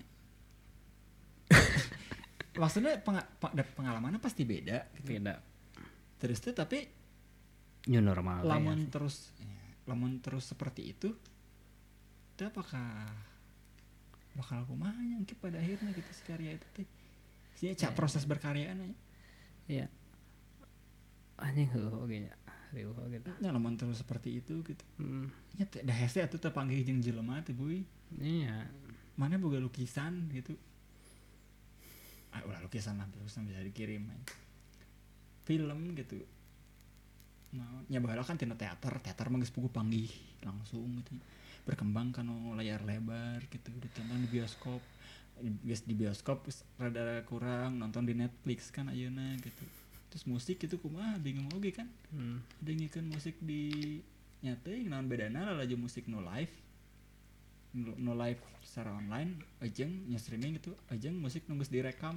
maksudnya peng, pengalamannya pasti beda gitu. Beda terus tuh tapi new normal lamun ya. terus ya, lamun terus seperti itu itu apakah bakal kumanya mungkin pada akhirnya gitu si karya itu teh sih cak ya, proses berkaryaan aja ya anjing heuh oge nya riuh oge tah nya lamun terus seperti itu gitu hmm. nya teh da hese atuh teh panggih jeung jelema teh buy iya mana boga lukisan gitu ah ulah lukisan mah bisa dikirim aja. Film gitu nah nya baheula kan tina teater teater mah geus puguh panggih langsung gitu berkembang kan layar lebar gitu ditonton di bioskop geus di bioskop rada kurang nonton di Netflix kan ayeuna gitu terus musik itu kumaha bingung oge kan hmm. dengikeun musik di nyata naon bedana laju musik no live no live secara online ajeng nya streaming gitu ajeng musik nunggus direkam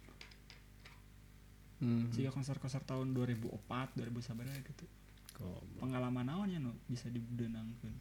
hmm. jika konser-konser tahun dua ribu empat dua ribu sabaraha gitu oh, pengalaman naonnya no bisa dibeunangkeun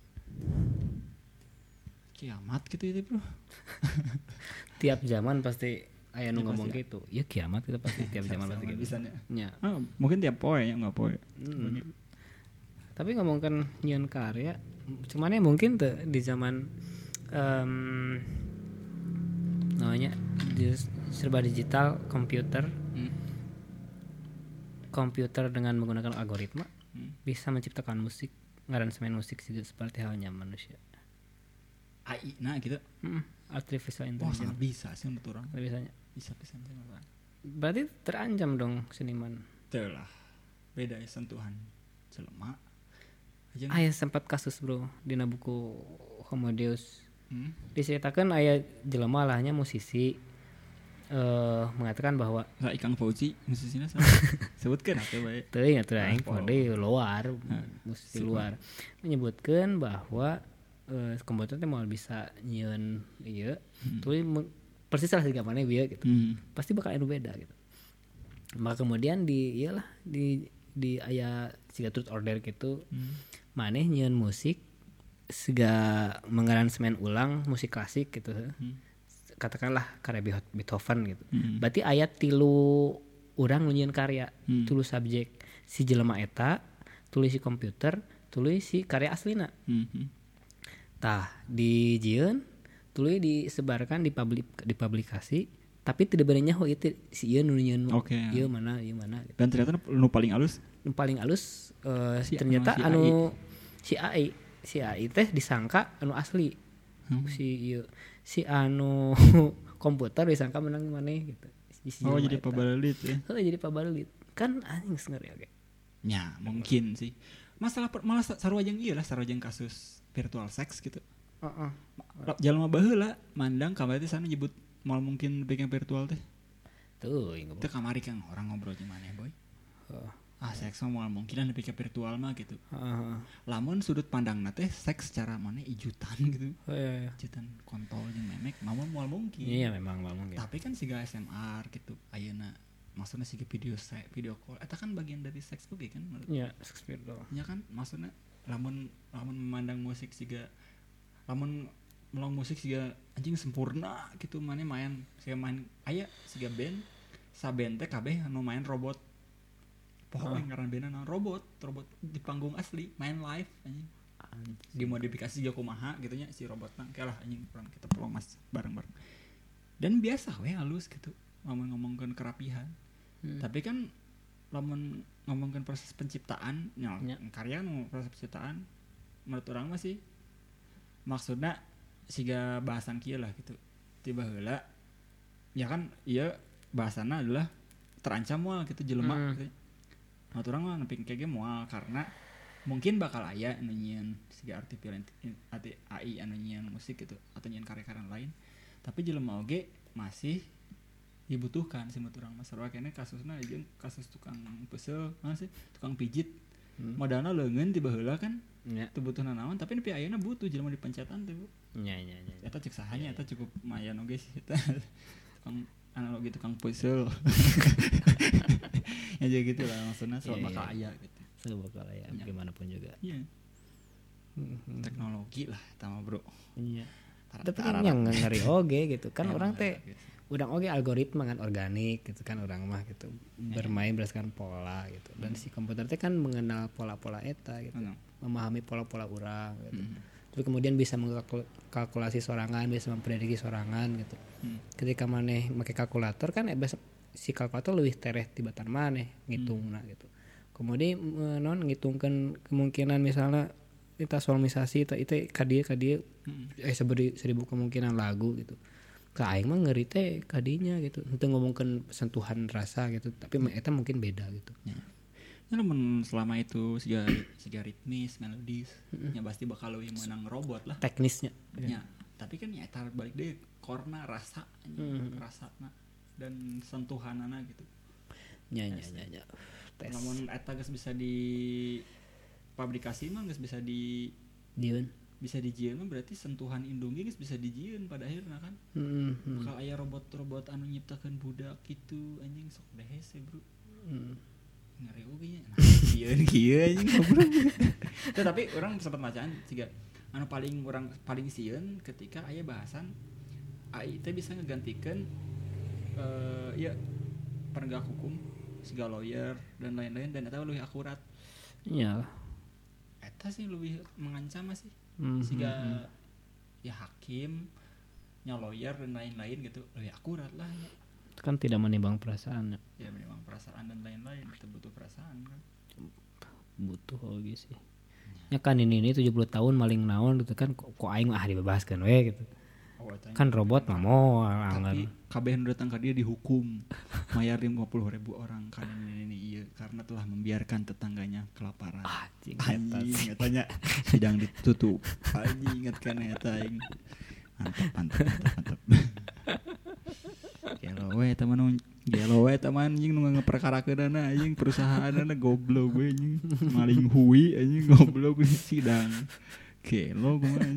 kiamat gitu itu bro tiap zaman pasti aya nu ngomong ya. Gitu ya kiamat kita pasti tiap zaman pasti gitu ya. Oh, mungkin tiap poe ya nggak poe hmm. tapi ngomongkan nyieun karya cuman ya mungkin tuh di zaman um, namanya serba digital komputer hmm. komputer dengan menggunakan algoritma hmm. bisa menciptakan musik ngaransemen musik seperti halnya manusia A I nah gitu hmm. artificial intelligence oh sangat bisa sih menurut orang bisanya bisa bisa menurut orang berarti terancam dong seniman betul lah beda ya sentuhan jelema aya sempat kasus bro dina buku Homo Deus hmm? diceritakan aya jelema lahnya musisi uh, mengatakan bahwa nah, Ikang Fauzi musisinya sebutkan atau baik teuing atuh aing di luar musisi luar menyebutkan bahwa Uh, komputer teh mau bisa nyieun ieu hmm. tuh persis lah siga maneh bieu gitu hmm. pasti bakal anu beda gitu maka kemudian di iyalah di di aya siga truth order gitu hmm. maneh nyieun musik siga mengaransemen ulang musik klasik gitu hmm. katakanlah karya Beethoven gitu hmm. berarti aya tilu urang nyieun karya hmm. tilu subjek si jelema eta tulis si komputer tulis si karya aslina hmm. tah di jieun tuluy disebarkan di publik di publikasi tapi tidak benernya oh itu si ieu nu nyieun okay, ieu mana ieu mana gitu. Dan ternyata nu paling alus nu paling alus uh, si ternyata si anu si A I si A I teh disangka anu asli hmm. si ieu si anu komputer disangka menang maneh gitu si oh jadi pabalelit ya oh jadi pabalelit kan anjing ngeri oke nya mungkin sih masalah malah sarua jeung ieu lah sarua jeung kasus virtual sex gitu. Heeh. Uh-uh. Jalma baheula mandang kamari teh sana nyebut mal mungkin bikin virtual teh. Tuh, ingat. Teu kamari kang orang ngobrol jeung maneh boy. Heeh. Uh. Ah seks mah mungkinan bikin virtual mah gitu. Heeh. Uh. Lamun sudut pandangna teh seks secara maneh ijutan gitu. Oh, iya, iya. Ijutan kontol jeung memek mah moal mungkin. Iya memang moal mungkin. Tapi kan siga S M R gitu ayeuna maksudnya siga video se- video call eta kan bagian dari seks oge kan menurut. Iya, seks virtual. Ya kan maksudnya lamun lamun memandang musik siga lamun melong musik siga anjing sempurna gitu maneh main siga main aya siga band saben teh kabeh anu main robot. Poho yang ngaran bandna robot, robot di panggung asli main live anjing. Dimodifikasi juga kumaha gitu nya si robotna kalah anjing urang kita pelong mas bareng-bareng. Dan biasa we halus gitu ngomong-ngomongkeun kerapihan. Hmm. Tapi kan lamun ngomongkeun proses penciptaan nya ya. Karya nu proses penciptaan menurut urang mah sih maksudna siga bahasan kieu lah gitu. Tiba heula ya kan ieu bahasana adalah terancam moal gitu jelema hmm. gitu. Menurut urang mah nepi kege moal karena mungkin bakal aya anu nyieun siga artificial A I anu nyieun musik gitu atau nyieun karya-karya lain. Tapi jelema oge masih dibutuhkan sih menurut urang mah sarua keneh kasusna jeung kasus tukang peusel mana sih tukang pijit hmm. modalna leungeun tiba heula kan nya teu butuh nanaon tapi nepi ayeuna butuh jelema dipencetan teh bu nya nya nya eta cek sahanya eta cukup mayan oge sih eta tukang analogi tukang peusel ya jadi gitu lah maksudnya soal yeah, bakal yeah. aya gitu soal bakal aya ya. Gimana pun juga iya mm-hmm. teknologi lah sama bro iya tapi kan yang ngeri oge gitu kan ya, orang teh gitu. Udang oge algoritma kan organik gitu kan orang mah gitu ya. Bermain berdasarkan pola gitu dan hmm. si komputer teh kan mengenal pola-pola eta gitu hmm. memahami pola-pola orang gitu hmm. terus kemudian bisa mengkalkulasi sorangan bisa memprediksi sorangan gitu hmm. ketika maneh make kalkulator kan eh, si kalkulator lebih tereh tibatan maneh ngitungna hmm. gitu kemudian non ngitungkeun kemungkinan misalnya kita solmisasi itu itu kadieu kadieu hmm. eh seberi seribu kemungkinan lagu gitu ka aing mah ngeri teh kadinya gitu henteu ngomongkeun sentuhan rasa gitu tapi hmm. eta mungkin beda gitu ya. Ya namun selama itu siga siga ritmis melodis hmm. ya pasti bakal leuwih meunang robot lah teknisnya ya, ya. Tapi kan ya tar balik deui korna rasa hmm. rasana dan sentuhanana gitu nya nya nya nya namun eta geus bisa di pabrikasi mah geus bisa di dieun bisa dijieun mah berarti sentuhan indung geus bisa dijieun pada akhirna kan mm-hmm. bakal aya robot-robot anu nyiptakeun budak gitu anjing sok dehese bro mm. ngeri oge nya dieun kieu anjing goblok tapi orang sempat bacaan siga anu paling urang paling sieun ketika aya bahasan A I teh bisa ngegantikeun uh, ya penegak hukum siga lawyer dan lain-lain dan eta lebih akurat iya eta sih lebih mengancam sih mm-hmm. siga ya hakim nya lawyer dan lain-lain gitu lebih akurat lah ya. Kan tidak menimbang perasaan ya menimbang perasaan dan lain-lain itu butuh perasaan kan butuh oge sih ya kan ini ini tujuh puluh tahun maling naon gitu kan kok, kok aing ah dibebaskan we gitu oh, kan robot mah moal tapi kabeh nu datang ka dia dihukum mayar lima puluh ribu orang kan ini ini iya karena telah membiarkan tetangganya kelaparan anjing anjing tanya sidang ditutup anjing ingat kan eta aing mantap mantap mantap mantap gelo we teman gelo we teman anjing nu ngaperkarakeunana anjing perusahaanna goblok we anjing maling hui anjing goblok di sidang gelo kumaha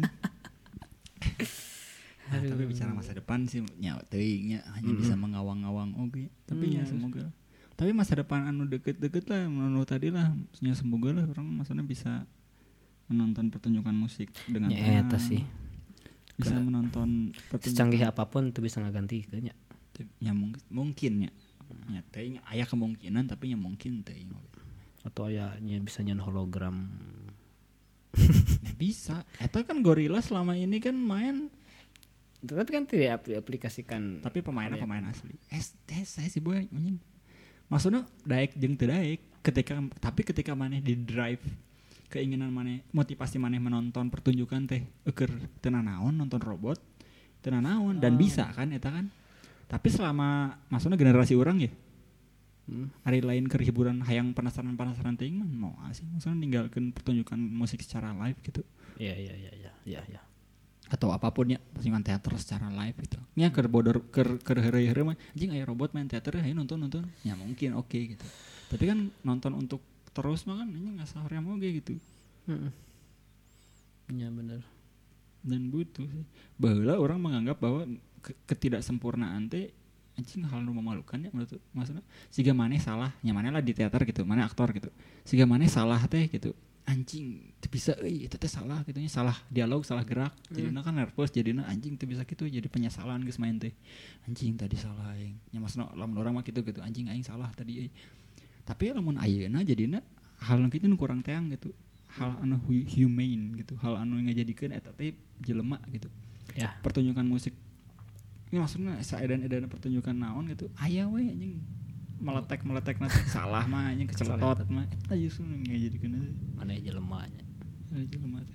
nah, tapi bicara masa depan sih nya teuing nya hanya mm-hmm. bisa mengawang-awang oke okay. tapi mm-hmm. ya semoga tapi masa depan anu deket-deket lah menurut tadi lah nya semoga lah orang maksudnya bisa menonton pertunjukan musik dengan ya eta sih bisa Ke, menonton secanggih apapun itu bisa ngagantikeun nya ya mungkin mungkin nya nya teuing aya kemungkinan tapi nya mungkin teuing atau aya nya bisa nyen hologram ya bisa eta kan Gorilla selama ini kan main tapi kan tidak diaplikasikan tapi pemainnya pemain asli es tes saya sih boy anjing maksudnya daek jeung teu daek ketika tapi ketika maneh di drive keinginan maneh motivasi maneh menonton pertunjukan teh eukeur teu nanaon nonton robot teu nanaon dan oh. bisa kan eta kan tapi selama maksudnya generasi urang ya Hmm. Hari lain ke hiburan hayang penasaran-penasaran ting mah mau asing maksudnya ninggalkeun pertunjukan musik secara live gitu. Iya iya iya iya iya ya. Atau apapun ya pertunjukan teater secara live gitu. Nya keur bodor keur keur heureuy-heureuy mah anjing aya robot main teater hayu nonton-nonton. Ya mungkin oke okay, gitu. Tapi kan nonton untuk terus mah kan anjing asa hoream oge gitu. Heeh. Iya benar. Dan butuh sih. Baheula orang menganggap bahwa ketidaksempurnaan teh anjing hal nu memalukan ya menurut maksudnya siga maneh salah nya maneh lah di teater gitu maneh aktor gitu siga maneh salah teh gitu anjing teu bisa euy eta teh salah gitu nya salah dialog salah gerak hmm. jadinya kan nervous jadinya anjing teu bisa gitu jadi penyesalan geus main teh anjing tadi salah aing nya maksudna lamun urang mah kitu gitu anjing aing salah tadi euy tapi lamun ayeuna jadinya hal nu kitu nu kurang teang gitu hal anu humane gitu hal anu ngajadikeun eta teh jelema gitu ya pertunjukan musik ini maksudnya saedan-edan pertunjukan naon gitu aya we anjing meletek-meletek nanti salah mah anjing keceletot mah eta justru ngajadikeun maneh jelema nya jelema teh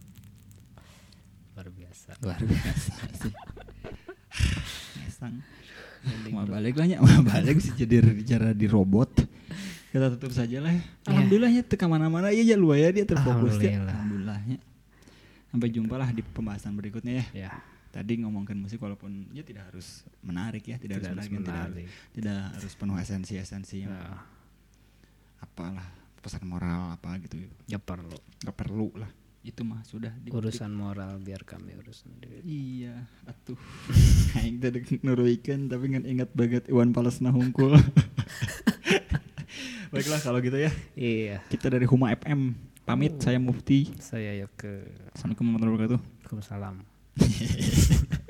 luar biasa luar biasa sih ngesang mau balik lah nya mau balik sih jadi bicara di robot kita tutup saja lah ya. Alhamdulillahnya teu ka mana-mana ieu ya luaya dia terfokus ya alhamdulillahnya sampai jumpa lah di pembahasan berikutnya ya. Ya. Tadi ngomongkan musik walaupun ya tidak harus menarik ya, tidak, tidak harus menarik, menarik. Tidak, tidak harus penuh esensi-esensi yang nah. apalah pesan moral apa gitu. Ya perlu. Gak perlu lah. Itu mah sudah di urusan moral biar kami urus sendiri. Iya, atuh. Aing teh nuruikeun tapi ngan ingat banget Iwan Palesna hungkul. Baiklah kalau gitu ya. Iya. Kita dari Huma F M pamit. Oh. Saya Mufti. Saya Yoke. Assalamualaikum warahmatullahi wabarakatuh. Waalaikumsalam.